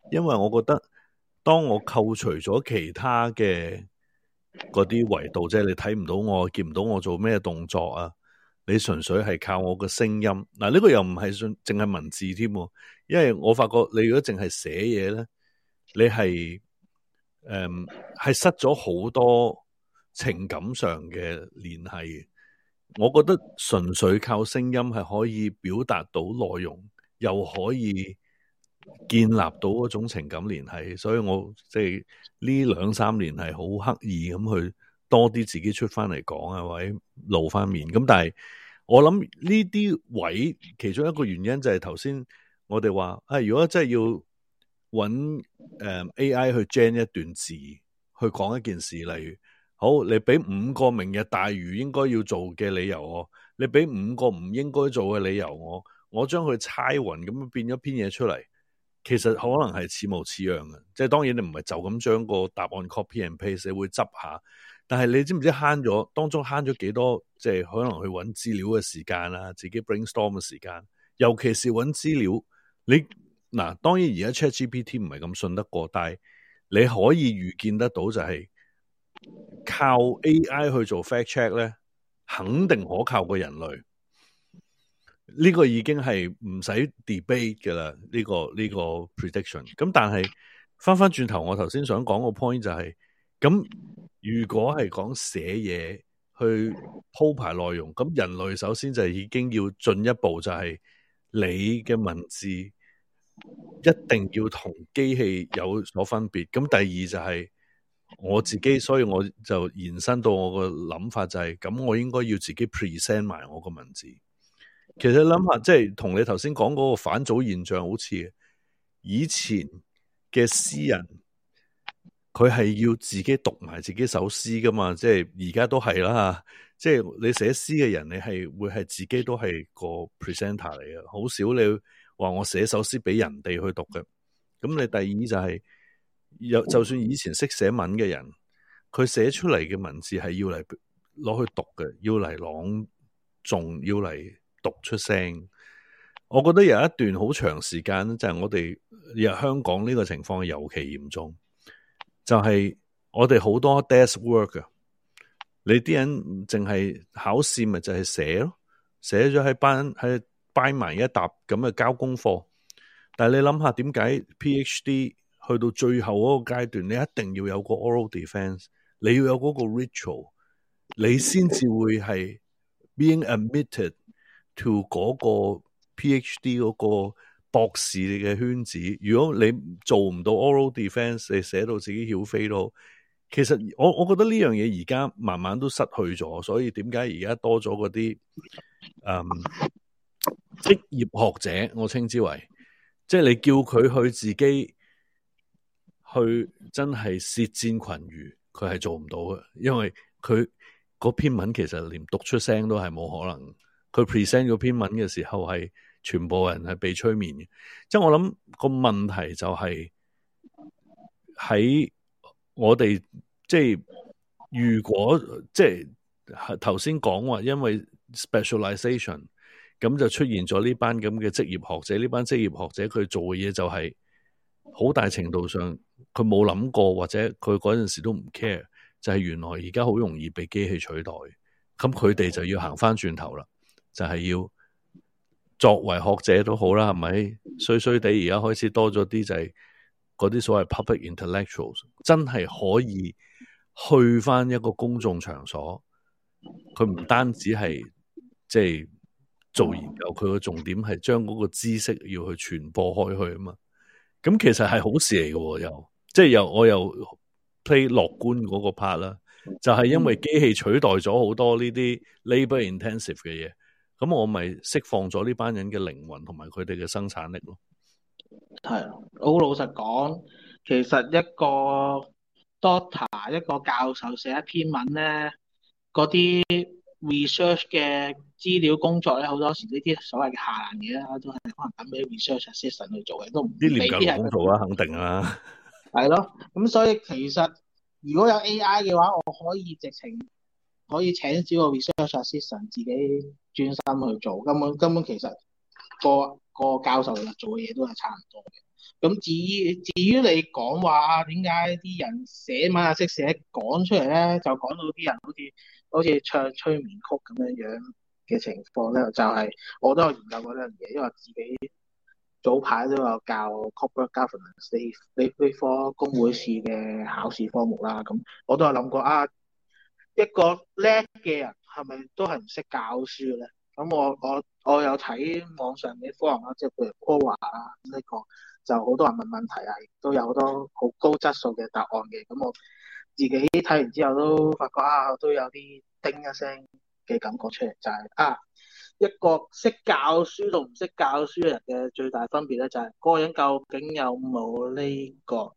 因為我覺得當我扣除咗其他嘅嗰啲維度，即係你睇唔到我，見唔到我做咩動作啊，你純粹係靠我嘅聲音。嗱，呢個又唔係淨係文字添，因為我發覺你如果淨係寫嘢咧，你係係失咗好多情感上嘅聯繫。我覺得純粹靠聲音係可以表達到內容，又可以建立到嗰種情感聯繫，所以我即係呢2-3年係好刻意咁去多啲自己出翻嚟講啊，或者露翻面。咁但係我諗呢啲位其中一個原因就係頭先我哋話如果真係要揾AI 去 gen 一段字去講一件事，例如好，你俾5個明日大嶼應該要做嘅理由我，你俾5個唔應該做嘅理由我將佢猜勻咁變咗篇嘢出嚟，其實可能係似模似樣嘅。即係當然你唔係就咁將個答案 copy and paste， 你會執下，但係你知唔知當中慳咗幾多？即係可能去揾資料嘅時間啦，自己 brainstorm 嘅時間，尤其是揾資料，你嗱當然而家 ChatGPT 唔係咁信得過，但係你可以預見得到就係靠 AI 去做 fact check 咧，肯定可靠過人類。呢個已經係唔使 debate 嘅啦，呢個 prediction。咁但係翻轉頭，我頭先想講個 point 就係，咁如果係講寫嘢去鋪排內容，咁人類首先就已經要進一步，就係你嘅文字一定要同機器有所分別。咁第二就係我自己，所以我就延伸到我個諗法就係，咁我應該要自己 present 埋我個文字。其實諗下，即係同你頭先講嗰個反祖現象好似，以前嘅詩人佢係要自己讀埋自己首詩噶嘛，即係而家都係啦，即係你寫詩嘅人，你係會係自己都係個 presenter 嚟嘅，好少你話我寫首詩俾人哋去讀嘅。咁你第二就係就算以前識寫文嘅人，佢寫出嚟嘅文字係要嚟攞去讀嘅，要嚟朗誦，要嚟讀出聲。我覺得有一段好長時間就係我哋香港呢個情況尤其嚴重，就係我哋好多 desk work 啊，你啲人淨係考試咪就係寫咯，寫咗喺擺埋一沓咁嘅交功課。但係你諗下點解 PhD 去到最後嗰個階段，你一定要有個 oral defense， 你要有嗰個 ritual， 你先至會係 being admitted to 嗰個 PhD 嗰個博士嘅圈子。如果你做唔到 oral defense， 你寫到自己曉飛都好，其實我覺得呢樣嘢而家慢慢都失去咗。所以點解而家多咗嗰啲職業學者，我稱之為，即係你叫佢去自己去真係舌戰群儒，佢係做唔到嘅，因為佢嗰篇文其實連讀出聲都係冇可能。佢 present 嗰篇文嘅時候係全部人係被催眠嘅。即係我諗個問題就係喺我哋，即係如果即係頭先講話，因為 specialization 咁就出現咗呢班咁嘅職業學者。呢班職業學者佢做嘅嘢就係好大程度上佢冇諗過，或者佢嗰陣時都唔 care， 就係原來而家好容易被機器取代。咁佢哋就要行翻轉頭啦，就係要作為學者都好啦，係咪？衰衰地而家開始多咗啲就係嗰啲所謂 public intellectuals， 真係可以去翻一個公眾場所，佢唔單止係即係做研究，佢個重點係將嗰個知識要去傳播開去啊嘛。咁其實係好事嚟嘅，即係我又 play 樂觀嗰個 part 啦，就係因為機器取代咗好多呢啲 labor intensive 嘅嘢，咁我咪釋放咗呢班人嘅靈魂同埋佢哋嘅生產力咯。 係，好老實講，其實一個 doctor 一個教授寫一篇文咧，嗰啲 research 嘅資料工作咧，好多時呢啲所謂嘅下欄嘢啦，都係可能等俾 research assistant 去做嘅，都唔啲廉價勞工做啊，肯定啊。 係咯，咁所以其實如果有 AI 嘅話，我可以直情可以請少個 research assistant 自己專心去做，根本其實個教授做嘅嘢都係差唔多嘅。 咁至於你講話點解啲人寫文啊識寫講出嚟咧，就講到啲人好似唱催眠曲咁樣樣嘅情況咧，就係、我都有研究過呢樣嘢，因為自己早排都有教 corporate governance 呢科工會試嘅考試科目啦。咁我都有諗過一個叻嘅人係咪都係唔識教書咧？咁我有睇網上嘅 forum 啦，即係譬如 Quora 啊呢個，就好多人問問題啊，亦都有好多好高質素嘅答案嘅。咁我自己睇完之後都發覺都有啲叮一聲嘅感覺出嚟，就係一個識教書同唔識教書嘅人嘅最大分別咧，就係嗰個人究竟有冇呢個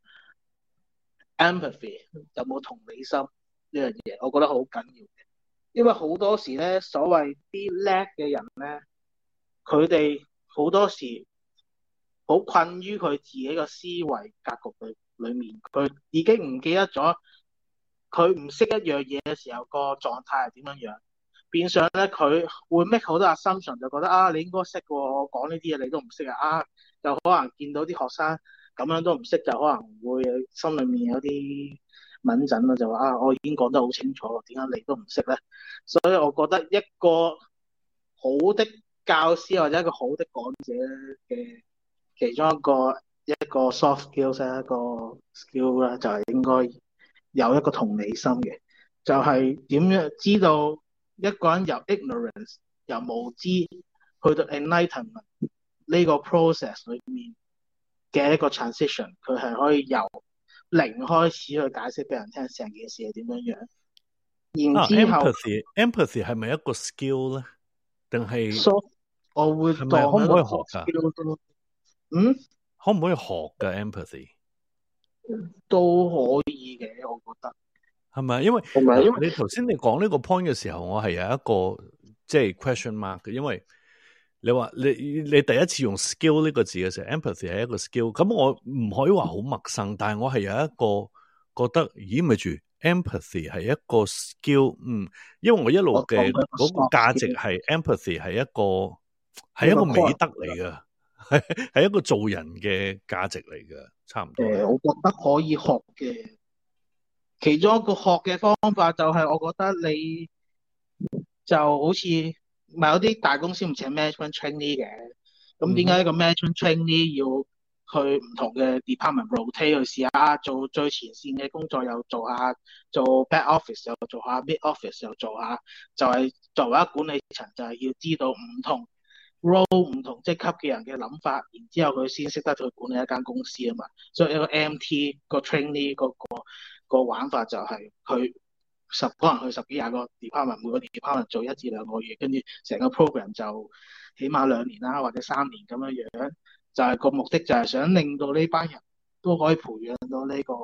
empathy，有冇同理心呢樣嘢，我覺得好緊要。因為好多時咧，所謂啲叻嘅人咧，佢哋好多時好困於佢自己個思維格局裏面，佢已經唔記得咗佢唔識一樣嘢嘅時候個狀態係點樣樣。變相咧，佢會 make 好多 assumption，就覺得你應該識喎，我講呢啲嘢你都唔識就可能見到啲學生咁樣都唔識，就可能會心裏面有啲敏感啦，就話我已經講得好清楚，點解你都唔識咧？所以我覺得一個好的教師或者一個好的講者嘅其中一個 soft skills 一個 skill 咧，就係應該有一個同理心嘅，就係點樣知道一個人由 ignorance 由無知去到 enlightenment 呢個 process 裏面嘅一個 transition，佢係可以由零開始去解釋俾人聽成件事係點樣樣。然之後 empathy 係咪一個 skill 咧？定係我會係咪可唔可以學㗎？可唔可以學㗎 empathy？ 都可以嘅，我覺得係咪？因為你頭先你講呢個 point 嘅時候，我係有一個即係 question mark 嘅，因為你話你第一次用 skill 呢個字嘅時候 ，empathy 係一個 skill，咁我唔可以話好陌生，但係我係有一個覺得，咦咪住 empathy 係一個 skill，因為我一路嘅嗰個價值係 empathy 係一個美德嚟嘅，係一個做人嘅價值嚟嘅，差唔多。 我覺得可以學嘅，其中一個學嘅方法就係，我覺得你就好似咪有啲大公司唔請 management trainee 嘅，咁點解一個 management trainee 要去唔同嘅 department rotate 去試下做最前線嘅工作，又做下做 back office 又做下 mid office 又做下，就係作為一個管理層就係要知道唔同 role 唔同職級嘅人嘅諗法，然之後佢先識得去管理一間公司啊嘛。所以一個 MT 個 trainee 個玩法就係佢可能去十幾廿個 department，每個 department 做1至2個月，跟住成個 program 就起碼2年啦，或者3年咁樣樣。就係個目的就係想令到呢班人都可以培養到呢個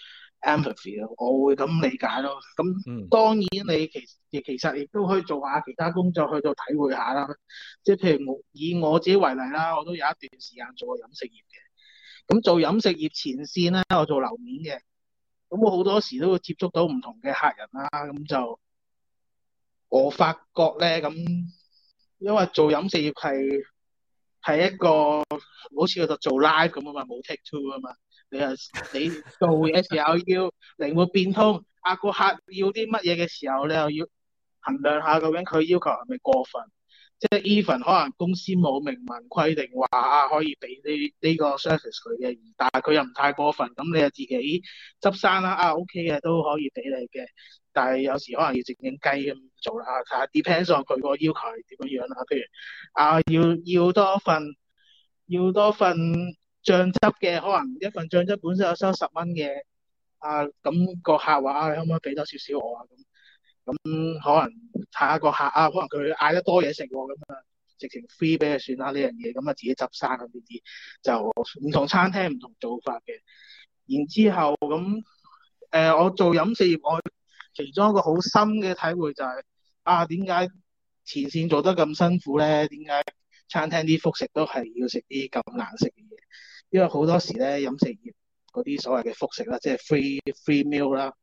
empathy 咯，我會咁理解咯。咁當然你其實亦都可以做下其他工作去到體會下啦。即係譬如以我自己為例啦，我都有一段時間做過飲食業嘅。咁做飲食業前線咧，我做樓面嘅。咁我好多時都會接觸到唔同嘅客人啦。咁就我發覺咧，咁因為做飲食業係一個好似做 live 咁啊嘛，冇 take two 啊嘛。你做嘅時候要靈活變通，個客要啲乜嘢嘅時候，你又要衡量下究竟佢要求係咪過分。即係 even 可能公司冇明文規定話可以俾呢個 service 佢嘅，但係佢又唔太過分，咁你就自己執生啦。OK 嘅都可以俾你嘅，但係有時可能要靜靜雞咁做啦。睇下 depends on 佢個要求係點樣啦。譬如要多份醬汁嘅，可能一份醬汁本身有收10蚊嘅，咁個客話你可唔可以俾多少少我咁可能睇下個客可能佢嗌得多嘢食喎，咁直情 free 俾佢算啦呢樣嘢，咁自己執生呢啲就唔同餐廳唔同做法嘅。然之後咁我做飲食業，我其中一個好深嘅體會就係點解前線做得咁辛苦咧？點解餐廳啲副食都係要食啲咁難食嘅嘢？因為好多時咧飲食業嗰啲所謂嘅副食啦，即係 free meal 啦，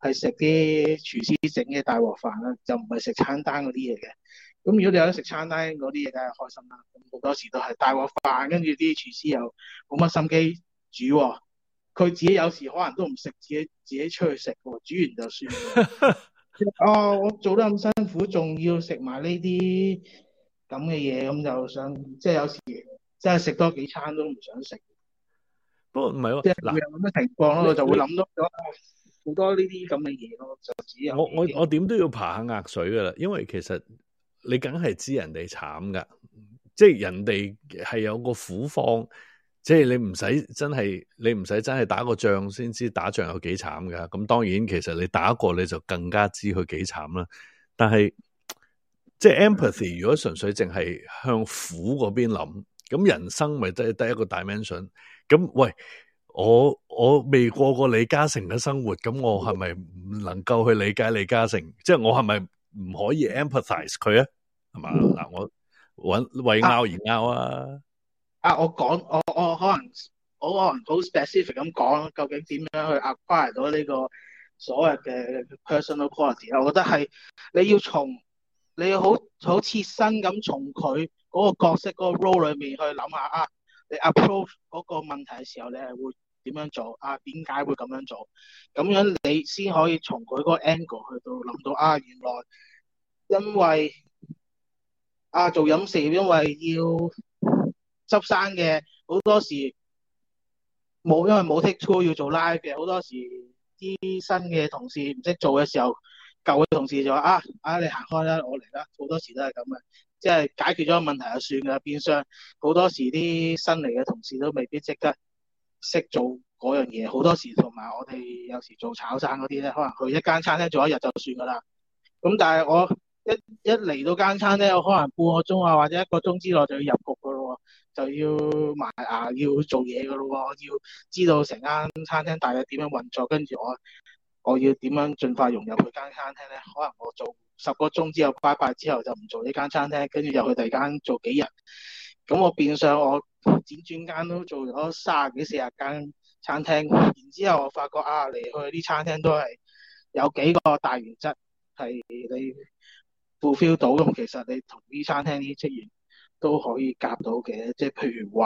係食啲廚師整嘅大鑊飯啦，就唔係食餐單嗰啲嘢嘅。咁如果你有得食餐單嗰啲嘢，梗係開心啦。咁好多時都係大鑊飯，跟住啲廚師又冇乜心機煮喎。佢自己有時可能都唔食，自己出去食喎，煮完就算喎。哦，我做得咁辛苦，仲要食埋呢啲咁嘅嘢，咁就想即係有時真係食多幾餐都唔想食， 不過唔係即係喎，嗱， 會有咁嘅情況咯，我就會你諗多咗好多呢啲咁嘅嘢咯，就自己有我幾驚。 點都要爬下額水噶啦，因為其實你梗係知人哋慘噶，即係人哋係有個苦況，即係你唔使真係打個仗先知打仗有幾慘噶。咁當然其實你打過你就更加知佢幾慘啦。但係即係 empathy， 如果純粹淨係向苦嗰邊諗，咁人生咪得一個 dimension。咁喂，我未過過李嘉誠嘅生活，咁我係咪唔能夠去理解李嘉誠？即係我係咪唔可以 empathize 佢啊？係嘛？嗱，我為拗而拗啊！ 我講我可能好 specific 咁講，究竟點樣去 acquire 到呢個所謂嘅 personal quality？我覺得係你要好切身咁從佢嗰個角色嗰個 role 裏面去諗下啊，你 approach 嗰個問題嘅時候，你係會點樣做啊？點解會咁樣做？咁樣你先可以從佢嗰個 angle 去到諗到啊，原來因為做飲食業，因為要執生嘅，好多時因為冇 take two 要做 live 嘅，好多時啲新嘅同事唔識做嘅時候，舊嘅同事就話你行開啦，我嚟啦，好多時都係咁嘅，即係解決咗個問題就算噶，變相好多時啲新嚟嘅同事都未必即刻識做嗰樣嘢，好多時同埋我哋有時做炒散嗰啲咧，可能去一間餐廳做一日就算噶啦，咁但係我一嚟到間餐廳，我可能半個鐘啊或者一個鐘之內就要入局噶咯，就要埋牙要做嘢噶咯，要知道成間餐廳大概點樣運作，跟住我要點樣盡快融入去間餐廳咧？可能我做10個鐘之後拜拜之後就唔做呢間餐廳，跟住又去第二間做幾日，咁我變相我輾轉間都做咗30幾40間餐廳，然之後我發覺嚟去啲餐廳都係有幾個大原則係你 fulfill 到，咁其實你同啲餐廳啲職員都可以夾到嘅，即係譬如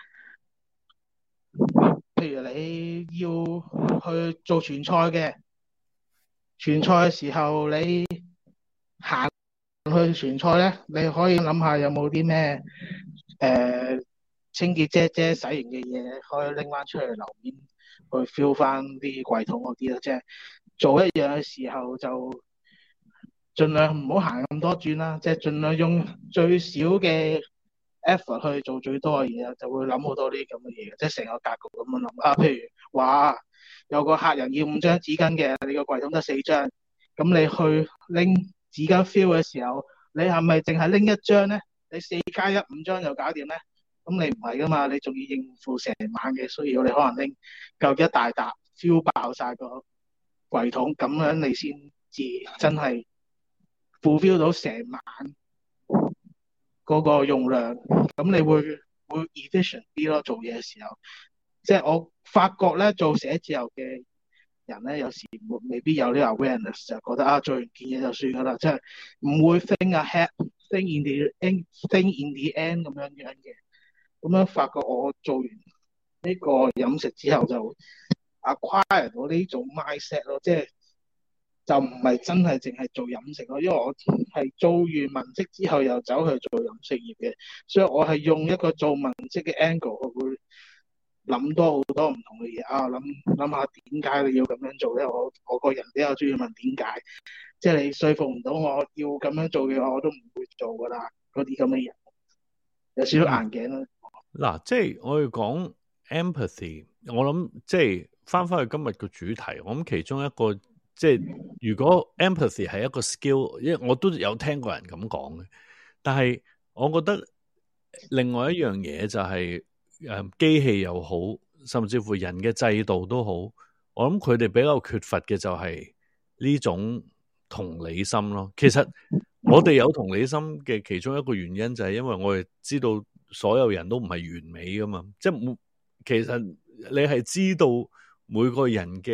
你要去做傳菜嘅，傳菜嘅時候你行去傳菜咧，你可以諗下有冇啲咩清潔姐洗完嘅嘢可以拎翻出去樓面去 fill 翻啲櫃桶嗰啲咯，即係做一樣嘅時候就盡量唔好行咁多轉啦，即係盡量用最少嘅 effort 去做最多嘅嘢，就會諗好多呢啲咁嘅嘢，即係成個格局咁樣諗譬如話有個客人要5張紙巾嘅，你個櫃桶得4張，咁你去拎紙巾 fill 嘅時候，你係咪淨係拎1張咧？你4加1 5張就搞掂咧？咁你唔係噶嘛，你仲要應付成晚嘅需要，你可能拎夠一大沓 fill 爆晒個櫃桶，咁樣你先至真係 fulfill 到成晚嗰個用量，咁你會 efficient 啲咯。做嘢嘅時候，即係我發覺咧，做寫字樓嘅人咧，有時未必有呢個 awareness，就覺得做完件嘢就算噶啦，即係唔會 think ahead，think in the end 咁樣嘅。咁樣發覺我做完呢個飲食之後就 acquire 到呢種 mindset 咯，即係就唔係真係淨係做飲食咯，因為我係做完文職之後又走去做飲食業嘅，所以我係用一個做文職嘅 angle，我會諗多好多唔同嘅嘢諗下點解你要咁樣做咧？我個人比較中意問點解，即係你說服唔到我要咁樣做嘅話，我都唔會做噶啦。嗰啲咁嘅人有少少硬頸咯。 嗱，即係我要講 empathy，我諗即係翻去今日個主題，我諗其中一個即係如果 empathy 係一個 skill，因為我都有聽過人咁講嘅，但係我覺得另外一樣嘢就係機器又好，甚至乎人嘅制度都好，我諗佢哋比較缺乏嘅就係呢種同理心咯。其實我哋有同理心嘅其中一個原因就係因為我哋知道所有人都唔係完美噶嘛，即係其實你係知道每個人嘅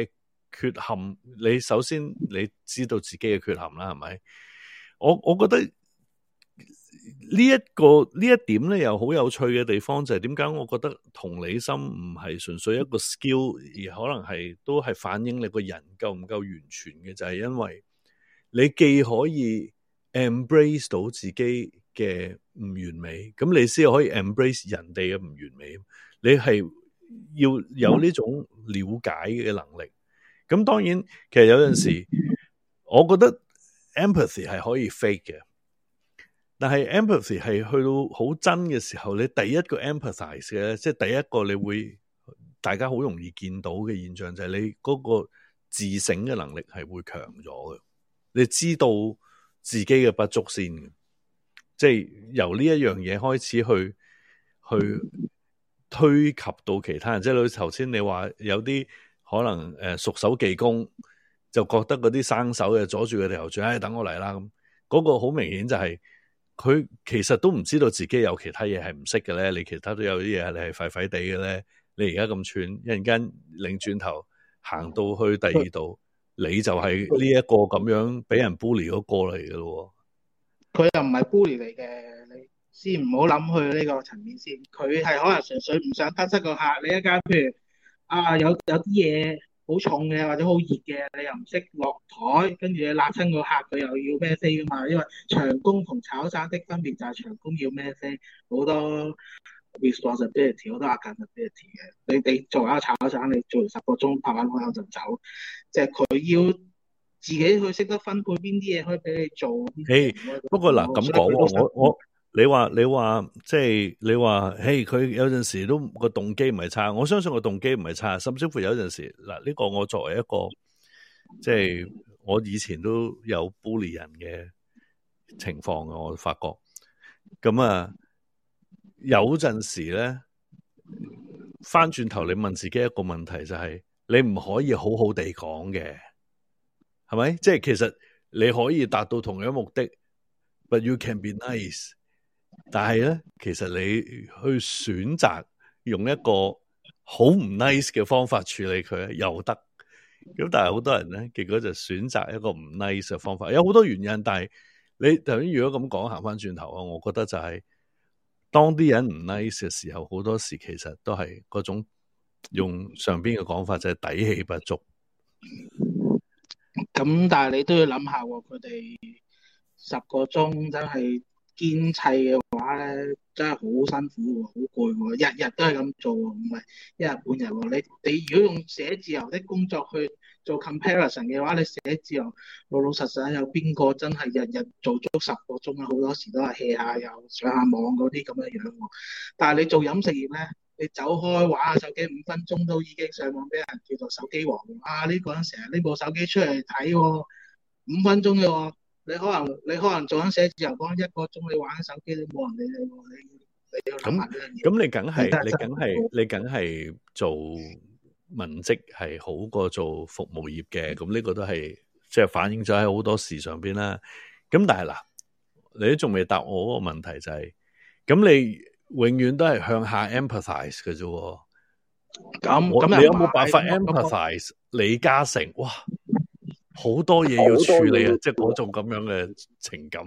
缺陷，你首先你知道自己嘅缺陷啦，係咪？我覺得呢一點咧，又好有趣嘅地方就係點解我覺得同理心唔係純粹一個 skill，而可能係都係反映你個人夠唔夠完全嘅，就係因為你既可以 embrace 到自己嘅唔完美，咁你先可以 embrace 人哋嘅唔完美。你係要有呢種了解嘅能力。咁當然，其實有陣時，我覺得 empathy 係可以 fake 嘅，但係 empathy 係去到好真嘅時候，你第一個 empathize 嘅，即係第一個你會大家好容易見到嘅現象就係你嗰個自省嘅能力係會強咗嘅。你知道自己嘅不足先嘅，即係由呢一樣嘢開始去推及到其他人。即係好似頭先你話有啲可能熟手技工就覺得嗰啲生手嘅阻住佢哋頭轉，等我嚟啦咁。嗰個好明顯就係佢其實都唔知道自己有其他嘢係唔識嘅咧。你其他都有啲嘢你係廢廢地嘅咧。你而家咁串，一陣間擰轉頭行到去第二度，你就係呢一個咁樣俾人 bully 嗰個嚟嘅咯。 佢又唔係 bully 嚟嘅，你先唔好諗去呢個層面先。佢係可能純粹唔想得失個客。你一間譬如有啲嘢好重嘅或者好熱嘅，你又唔識落台，跟住你辣親個客，佢又要孭飛噶嘛。因為長工同炒散的分別就係長工要孭飛，好多 responsibility 好多 accountability 嘅。你做一個炒散，你做完10個鐘拍完開口就走，即係佢要自己去識得分配邊啲嘢可以俾你做。 不過嗱咁講，你話即係你話，佢有陣時都個動機唔係差，我相信個動機唔係差，甚至乎有陣時嗱，呢個我作為一個即係我以前都有 bully 人嘅情況嘅，我發覺咁啊，有陣時咧翻轉頭你問自己一個問題就係，你唔可以好好地講嘅，係咪？即係其實你可以達到同樣目的 ，but you can be nice。但係咧，其實你去選擇用一個好唔 nice 嘅方法處理佢又得。咁但係好多人咧，結果就選擇一個唔 nice 嘅方法，有好多原因。但係你頭先如果咁講，行翻轉頭啊，我覺得就係當啲人唔 nice 嘅時候，好多時其實都係嗰種用上邊嘅講法就係底氣不足。 咁但係你都要諗下喎，佢哋10個鐘真係堅砌嘅話咧，真係好辛苦喎，好攰喎，日日都係咁做喎，唔係一日半日喎。你如果用寫字樓的工作去做 comparison 嘅話，你寫字樓老老實實有邊個真係日日做足10個鐘啊？好多時都係 hea 下又上下網嗰啲咁嘅樣喎。但係你做飲食業咧，你走開玩下手機5分鐘都已經上網俾人叫做手機王呢個人成日拎部手機出嚟睇喎，5分鐘嘅喎。你可能做緊寫字樓講1個鐘，你玩手機都冇人理你喎。你要諗下呢樣嘢。 咁你梗係做文職係好過做服務業嘅。咁呢個都係即係反映咗喺好多事上邊啦。咁但係嗱，你都仲未答我嗰個問題就係，咁你永遠都係向下 empathize 嘅啫。咁你有冇辦法 empathize 李嘉誠？哇！好多嘢要處理啊，即係嗰種咁樣嘅情感。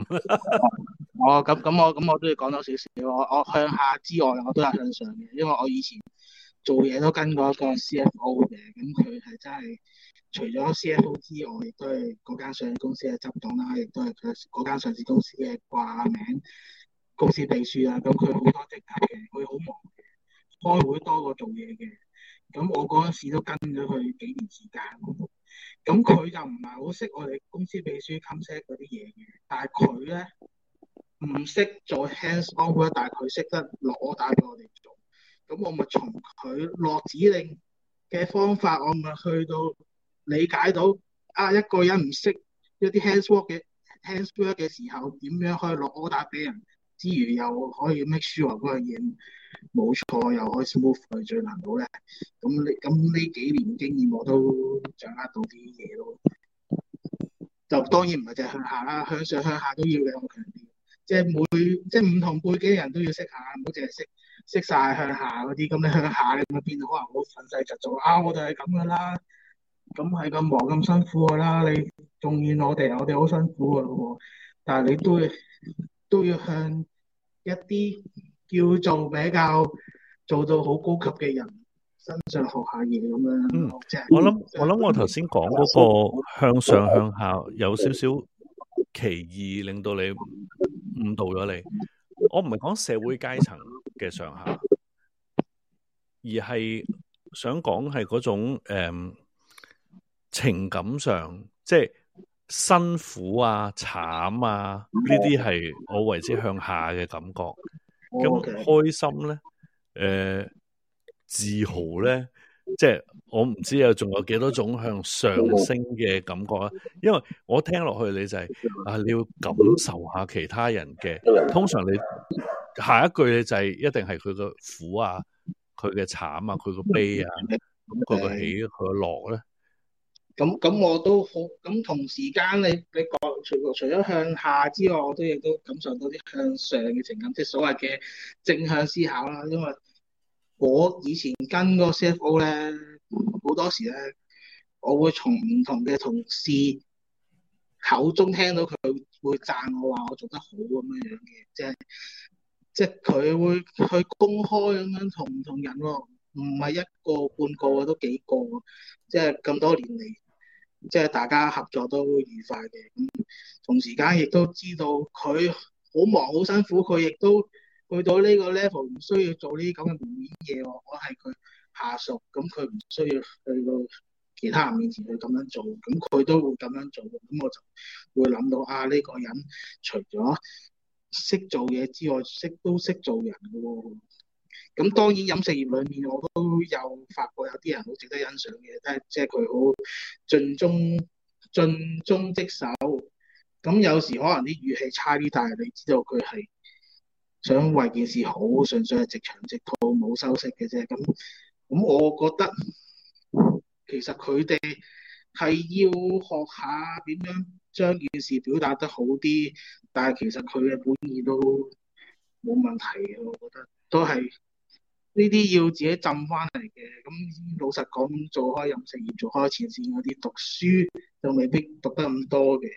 咁我都要講多少少。我向下之外，我都係向上嘅，因為我以前做嘢都跟過一個 CFO 嘅，咁佢係真係除咗 CFO 之外，亦都係嗰間上市公司嘅執董啦，亦都係佢嗰間上市公司嘅掛名公司秘書啦。咁佢好多職級嘅，佢好忙嘅，開會多過做嘢嘅。咁我嗰陣時都跟咗佢幾年時間。咁佢就唔係好識我哋公司秘書 concept 嗰啲嘢嘅，但係佢咧唔識做 hands on， 但係佢識得落 order 俾我哋做。咁我咪從佢落指令嘅方法，我咪去到理解到一個人唔識一啲 hands work 嘅時候，點樣可以落 order 俾人，之餘又可以 make sure 嗰樣嘢冇錯，又可以 smooth 去最難到咧。咁呢幾年經驗我都掌握到啲嘢咯。就當然唔係淨係向下啦，向上向下都要嘅，我強調。即係唔同背景嘅人都要識下，唔好淨係識晒向下嗰啲。咁你向下你咪變到可能好憤世嫉俗我哋係咁噶啦。 咁係咁忙咁辛苦噶啦，你仲怨我哋好辛苦噶咯喎，但係你都要向一啲叫做比較做到好高級嘅人身上學下嘢咁樣嗯， 咯，即係我諗我頭先講嗰個向上向下有少少歧義，令到你誤導咗你。我唔係講社會階層嘅上下，而係想講係嗰種情感上，即係辛苦啊、慘啊呢啲係我為之向下嘅感覺。咁 OK 開心咧，自豪咧，即係我唔知仲有幾多種向上升嘅感覺啊。因為我聽落去你就係你要感受下其他人嘅，通常你下一句你就係一定係佢個苦啊、佢嘅慘啊、佢個悲啊，咁佢個喜佢個樂咧。 咁我都好，咁同時間你講除咗向下之外，我亦都感受到啲向上嘅情感，即係所謂嘅正向思考啦。因為我以前跟個 CFO 咧，好多時咧，我會從唔同嘅同事口中聽到佢會讚我話我做得好咁樣樣嘅，即係佢會去公開咁樣同唔同人喎，唔係一個半個啊，都幾個，即係咁多年嚟。即係大家合作都愉快嘅，咁同時間亦都知道佢好忙好辛苦，佢亦都去到呢個 level 唔需要做呢啲咁嘅門面嘢喎。我係佢下屬，咁佢唔需要去到其他人面前去咁樣做，咁佢都會咁樣做，咁我就會諗到呢個人除咗識做嘢之外，都識做人嘅喎。咁當然飲食業裏面我都有發覺有啲人好值得欣賞嘅，即係佢好盡忠職守。咁有時可能啲語氣差啲，但係你知道佢係想為件事好，純粹係直腸直肚冇修飾嘅啫。咁我覺得其實佢哋係要學下點樣將件事表達得好啲，但係其實佢嘅本意都冇問題嘅，我覺得都係。呢啲要自己浸翻嚟嘅，咁老實講，做開飲食業、做開前線嗰啲，讀書就未必讀得咁多嘅，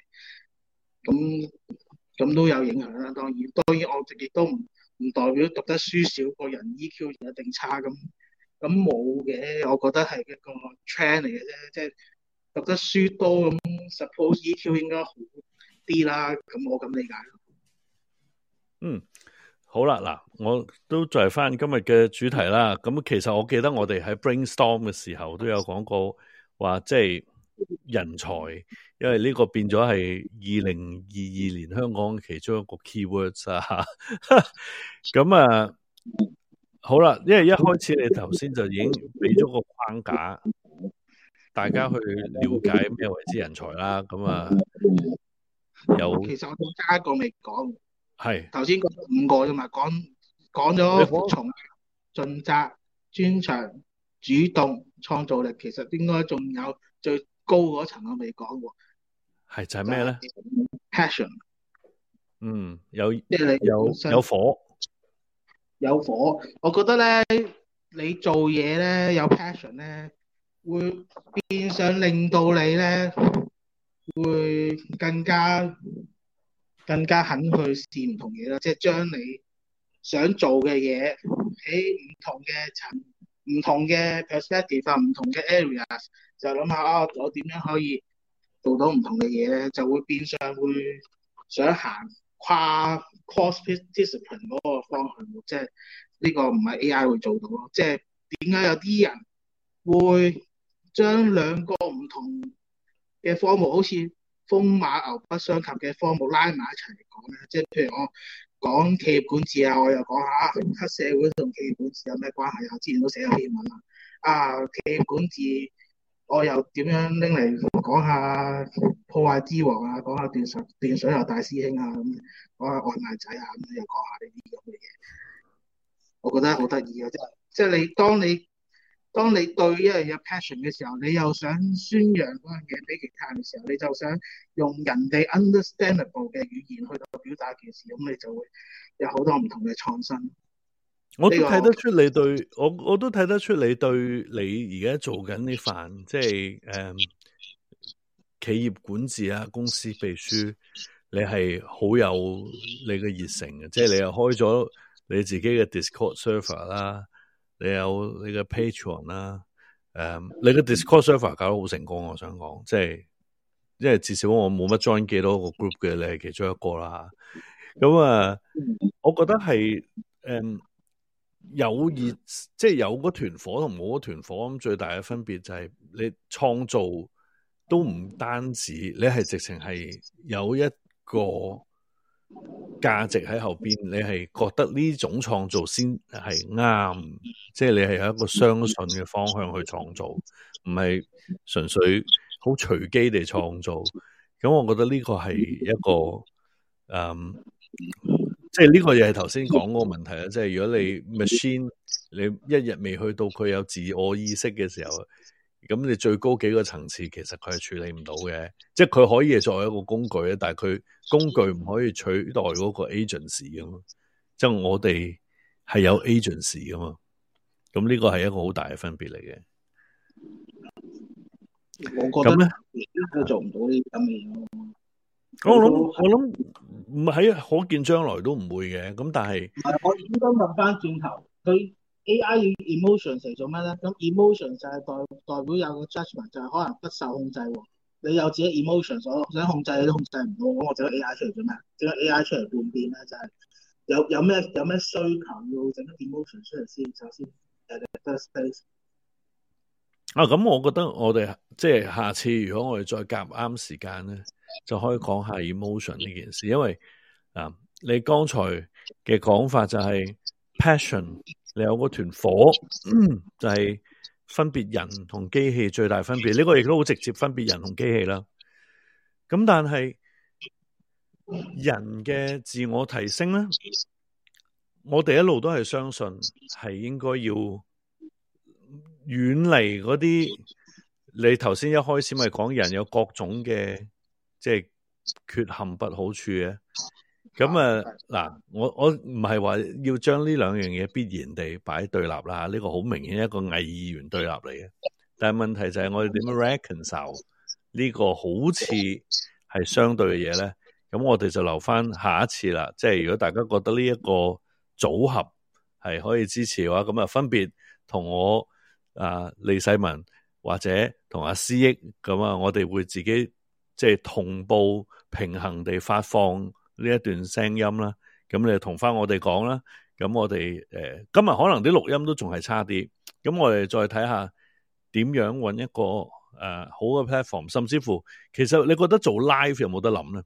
咁都有影響啦。當然我亦都唔代表讀得書少個人 EQ 就一定差咁冇嘅，我覺得係一個 trend 嚟嘅啫，即係讀得書多咁，suppose EQ 應該好啲啦，咁我咁理解咯。 嗯。好啦，嗱，我都再翻今日嘅主題啦。咁其實我記得我哋喺 brainstorm 嘅時候都有講過，話即係人才，因為呢個變咗係2022年香港其中一個 keywords 啊。咁啊，好啦，因為一開始你頭先就已經俾咗個框架，大家去了解咩為之人才啦。咁啊，有其實我仲加一個未講。 係頭先講5個啫嘛，講你咗服講從、盡責、專長、主動、創造力，其實應該仲有最高嗰層我未講喎， 係就係咩咧？ passion， 有即係你有本身有火。 有火。我覺得咧，你做嘢咧有 passion 咧，會變相令到你咧會更加肯去試唔同嘢啦，即係將你想做嘅嘢喺唔同嘅 perspective 唔同嘅 areas，就諗下我點樣可以做到唔同嘅嘢咧，就會變相會想行跨 cross discipline 嗰個方向，即係呢個唔係 AI 會做到咯。即係點解有啲人會將兩個唔同嘅科目，好似風馬牛不相及嘅科目拉埋一齊嚟講咧？即係譬如我講企業管治啊，我又講下黑社會同企業管治有咩關係啊？之前都寫咗篇文啦。企業管治我又點樣拎嚟講下破壞之王啊？講下斷水流大師兄啊，咁講下外賣仔啊，咁又講下呢啲咁嘅嘢。我覺得好得意啊！即係當你對一樣嘢 passion 嘅時候，你又想宣揚嗰樣嘢俾其他人嘅時候，你就想用人哋 understandable 嘅語言去到表達件事，咁你就會有好多唔同嘅創新。 我都睇得出你對我都睇得出你對你而家做緊呢份即係企業管治啊，公司秘書，你係好有你嘅熱誠嘅，即係你又開咗你自己嘅 Discord server 啦，你有你嘅 Patreon 啦，你嘅 Discord server 搞得好成功，我想講，即係因為至少我冇乜 join 幾多個 group 嘅，你係其中一個啦。咁啊，我覺得係有熱，即係有嗰團火同冇嗰團火，咁最大嘅分別就係你創造都唔單止，你係直情係有一個價值喺後邊，你係覺得呢種創造先係啱，即係你係有一個相信嘅方向去創造，唔係純粹好隨機地創造。咁我覺得呢個係一個即係呢個又係頭先講嗰個問題啦，即係如果你 machine 你一日未去到佢有自我意識嘅時候，咁你最高幾個層次其實佢係處理唔到嘅，即係佢可以係作為一個工具咧，但係佢工具唔可以取代嗰個 agency 噶嘛，即係我哋係有 agency 噶嘛，咁呢個係一個好大嘅分別嚟嘅。 我覺得佢做唔到呢啲咁嘅嘢咯。 我諗唔喺可見將來都唔會嘅，咁但係我應該問翻轉頭，佢 AI emotion 嚟做咩咧？咁 emotion 就係代表有個 judgment，就係可能不受控制喎。你有自己 emotion，所想控制你都控制唔到，咁我整個 AI 出嚟做咩？整個 AI 出嚟叛變咧，就係有咩需求要整個 emotion 出嚟先，首先first place。 咁我覺得我哋即係下次如果我哋再夾啱時間咧，就可以講下 emotion 呢件事，因為你剛才嘅講法就係 passion， 你有嗰團火，就係分別人同機器最大分別，呢個亦都好直接分別人同機器啦。咁但係人嘅自我提升咧，我哋一路都係相信係應該要遠離嗰啲，你頭先一開始咪講人有各種嘅即係缺陷不好處嘅，咁嗱，我唔係話要將呢兩樣嘢必然地擺對立啦，呢個好明顯一個偽二元對立嚟嘅，但係問題就係我哋點樣 reconcile 呢個好似係相對嘅嘢咧？咁我哋就留翻下一次啦，即係如果大家覺得呢一個組合係可以支持嘅話，咁啊分別同我利世民或者同阿思益咁啊，我哋會自己即係同步平衡地發放呢一段聲音啦。咁你就同翻我哋講啦。咁我哋今日可能啲錄音都仲係差啲。咁我哋再睇下點樣揾一個好嘅 platform， 甚至乎其實你覺得做 live 有冇得諗咧？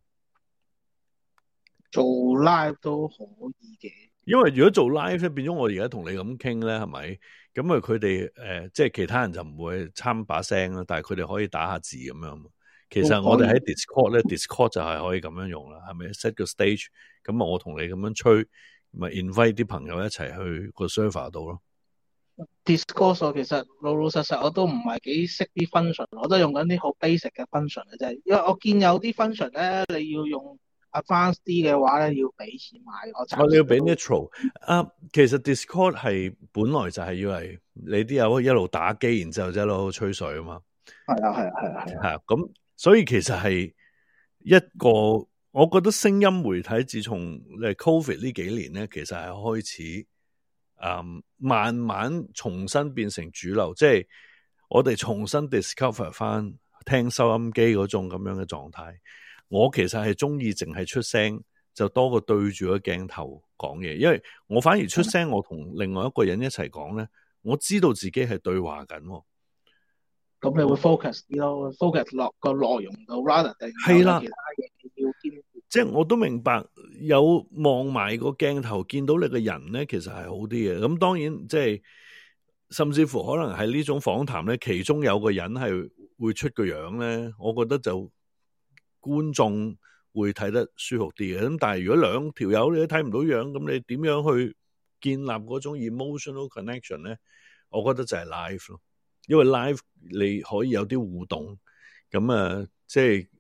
做 live 都可以嘅， 因為如果做 live 咧，變咗我而家同你咁傾咧，係咪？咁佢哋即係其他人就唔會參把聲啦，但係佢哋可以打下字咁樣。其實我哋喺 Discord 咧，Discord 就係可以咁樣用啦，係咪 set 個 stage？咁我同你咁樣吹，咪 invite 啲朋友一齊去個 server 度咯。 Discord 其實老實實我都唔係幾識啲 function， 我都用緊啲好 basic 嘅 function 嘅啫。因為我見有啲 function 咧，你要用 advanced 啲嘅話咧，要俾錢買。 你要俾 Nitro 其實 Discord 係本來就係要嚟你啲友一路打機，然之後一路吹水啊嘛。係啊。咁所以其實係一個，我覺得聲音媒體自從COVID 呢幾年咧，其實係開始慢慢重新變成主流，即係我哋重新 discover 翻聽收音機嗰種咁樣嘅狀態。我其實係中意淨係出聲，就多過對住個鏡頭講嘢，因為我反而出聲，我同另外一個人一齊講咧，我知道自己係對話緊。 咁你會 focus 啲咯 ，focus 落個內容度 rather 定係啦， 其他嘢要兼顧。 即係我都明白有望埋個鏡頭見到你個人咧，其實係好啲嘅。咁當然即係甚至乎可能係呢種訪談咧，其中有個人係會出個樣咧，我覺得就觀眾會睇得舒服啲嘅。咁但係如果兩條友你都睇唔到樣，咁你點樣去建立嗰種 emotional connection 咧？我覺得就係 live 咯，因為 live 你可以有啲互動，咁即係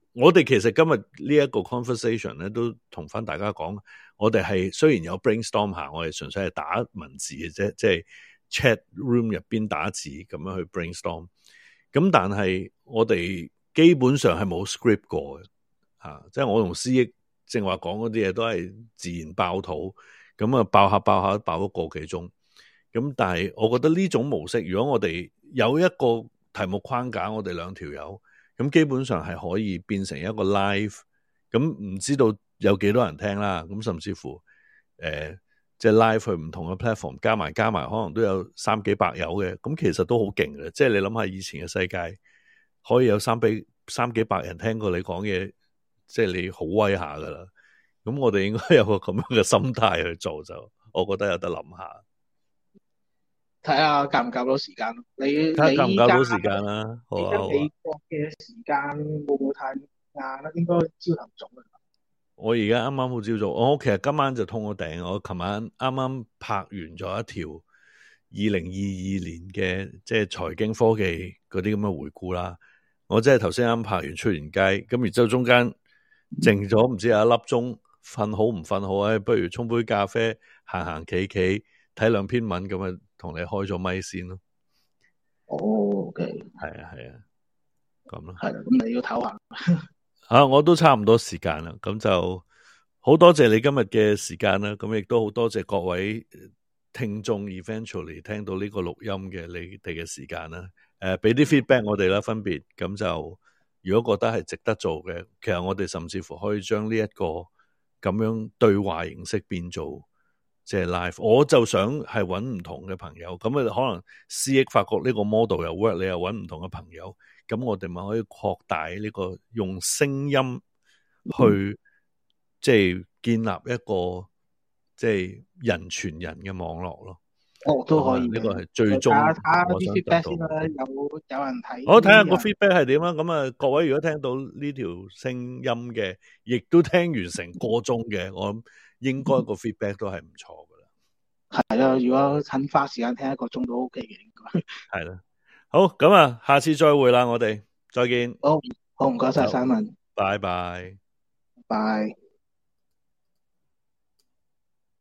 我哋其實今日呢一個 conversation 咧，都同翻大家講，我哋係雖然有 brainstorm 下，我哋純粹係打文字嘅啫，即係 chat room 入邊打字咁樣去 brainstorm。咁但係我哋基本上係冇 script 過嘅，即係我同思益正話講嗰啲嘢都係自然爆肚，咁啊爆下爆咗個幾鐘。咁但係我覺得呢種模式，如果我哋有一個題目框架，我哋兩條友。咁基本上係可以變成一個 live， 咁唔知道有幾多人聽啦，咁甚至乎即係 live 去唔同嘅 platform 加埋，可能都有300幾百友嘅，咁其實都好勁嘅。即係你諗下以前嘅世界，可以有300幾百人聽過你講嘢，即係你好威下噶啦。咁我哋應該有個咁樣嘅心態去做，就我覺得有得諗下。 睇下夾唔夾到時間咯。 睇下夾唔夾到時間啦。好啊， 美國嘅時間會唔會太晏咧？應該朝頭早啊。 我而家啱啱好朝早，我其實今晚就通咗頂。我琴晚啱啱拍完咗一條2022年嘅即係財經科技嗰啲咁嘅回顧啦。我即係頭先啱拍完出完街，咁然之後中間靜咗唔知有一粒鐘，瞓好唔瞓好，不如沖杯咖啡，行企睇2篇文咁啊，同你開咗咪先咯。 哦，OK， 係啊，咁咯。 係啦，咁你要唞下。 我都差唔多時間啦，咁就好多謝你今日嘅時間啦，咁亦都好多謝各位聽眾 eventually 聽到呢個錄音嘅你哋嘅時間啦，俾啲 feedback 我哋啦，分別咁就如果覺得係值得做嘅，其實我哋甚至乎可以將呢一個咁樣對話形式變做即係 live。我就想係揾唔同嘅朋友，咁啊可能思益發覺呢個 model 又 work， 你又揾唔同嘅朋友。咁我哋咪可以擴大呢個用聲音去即係建立一個即係人傳人嘅網絡咯。 都可以呢個係最終我想得到。 有人睇， 我睇下個 feedback 係點啦。咁啊，各位如果聽到呢條聲音嘅，亦都聽完成個鐘嘅，我諗應該個 feedback 都係唔錯噶啦。 係啦，如果肯花時間聽1個鐘都 OK 嘅，應該係啦。好，咁啊，下次再會啦，我哋再見。 好唔該晒，Simon， 拜拜。 拜。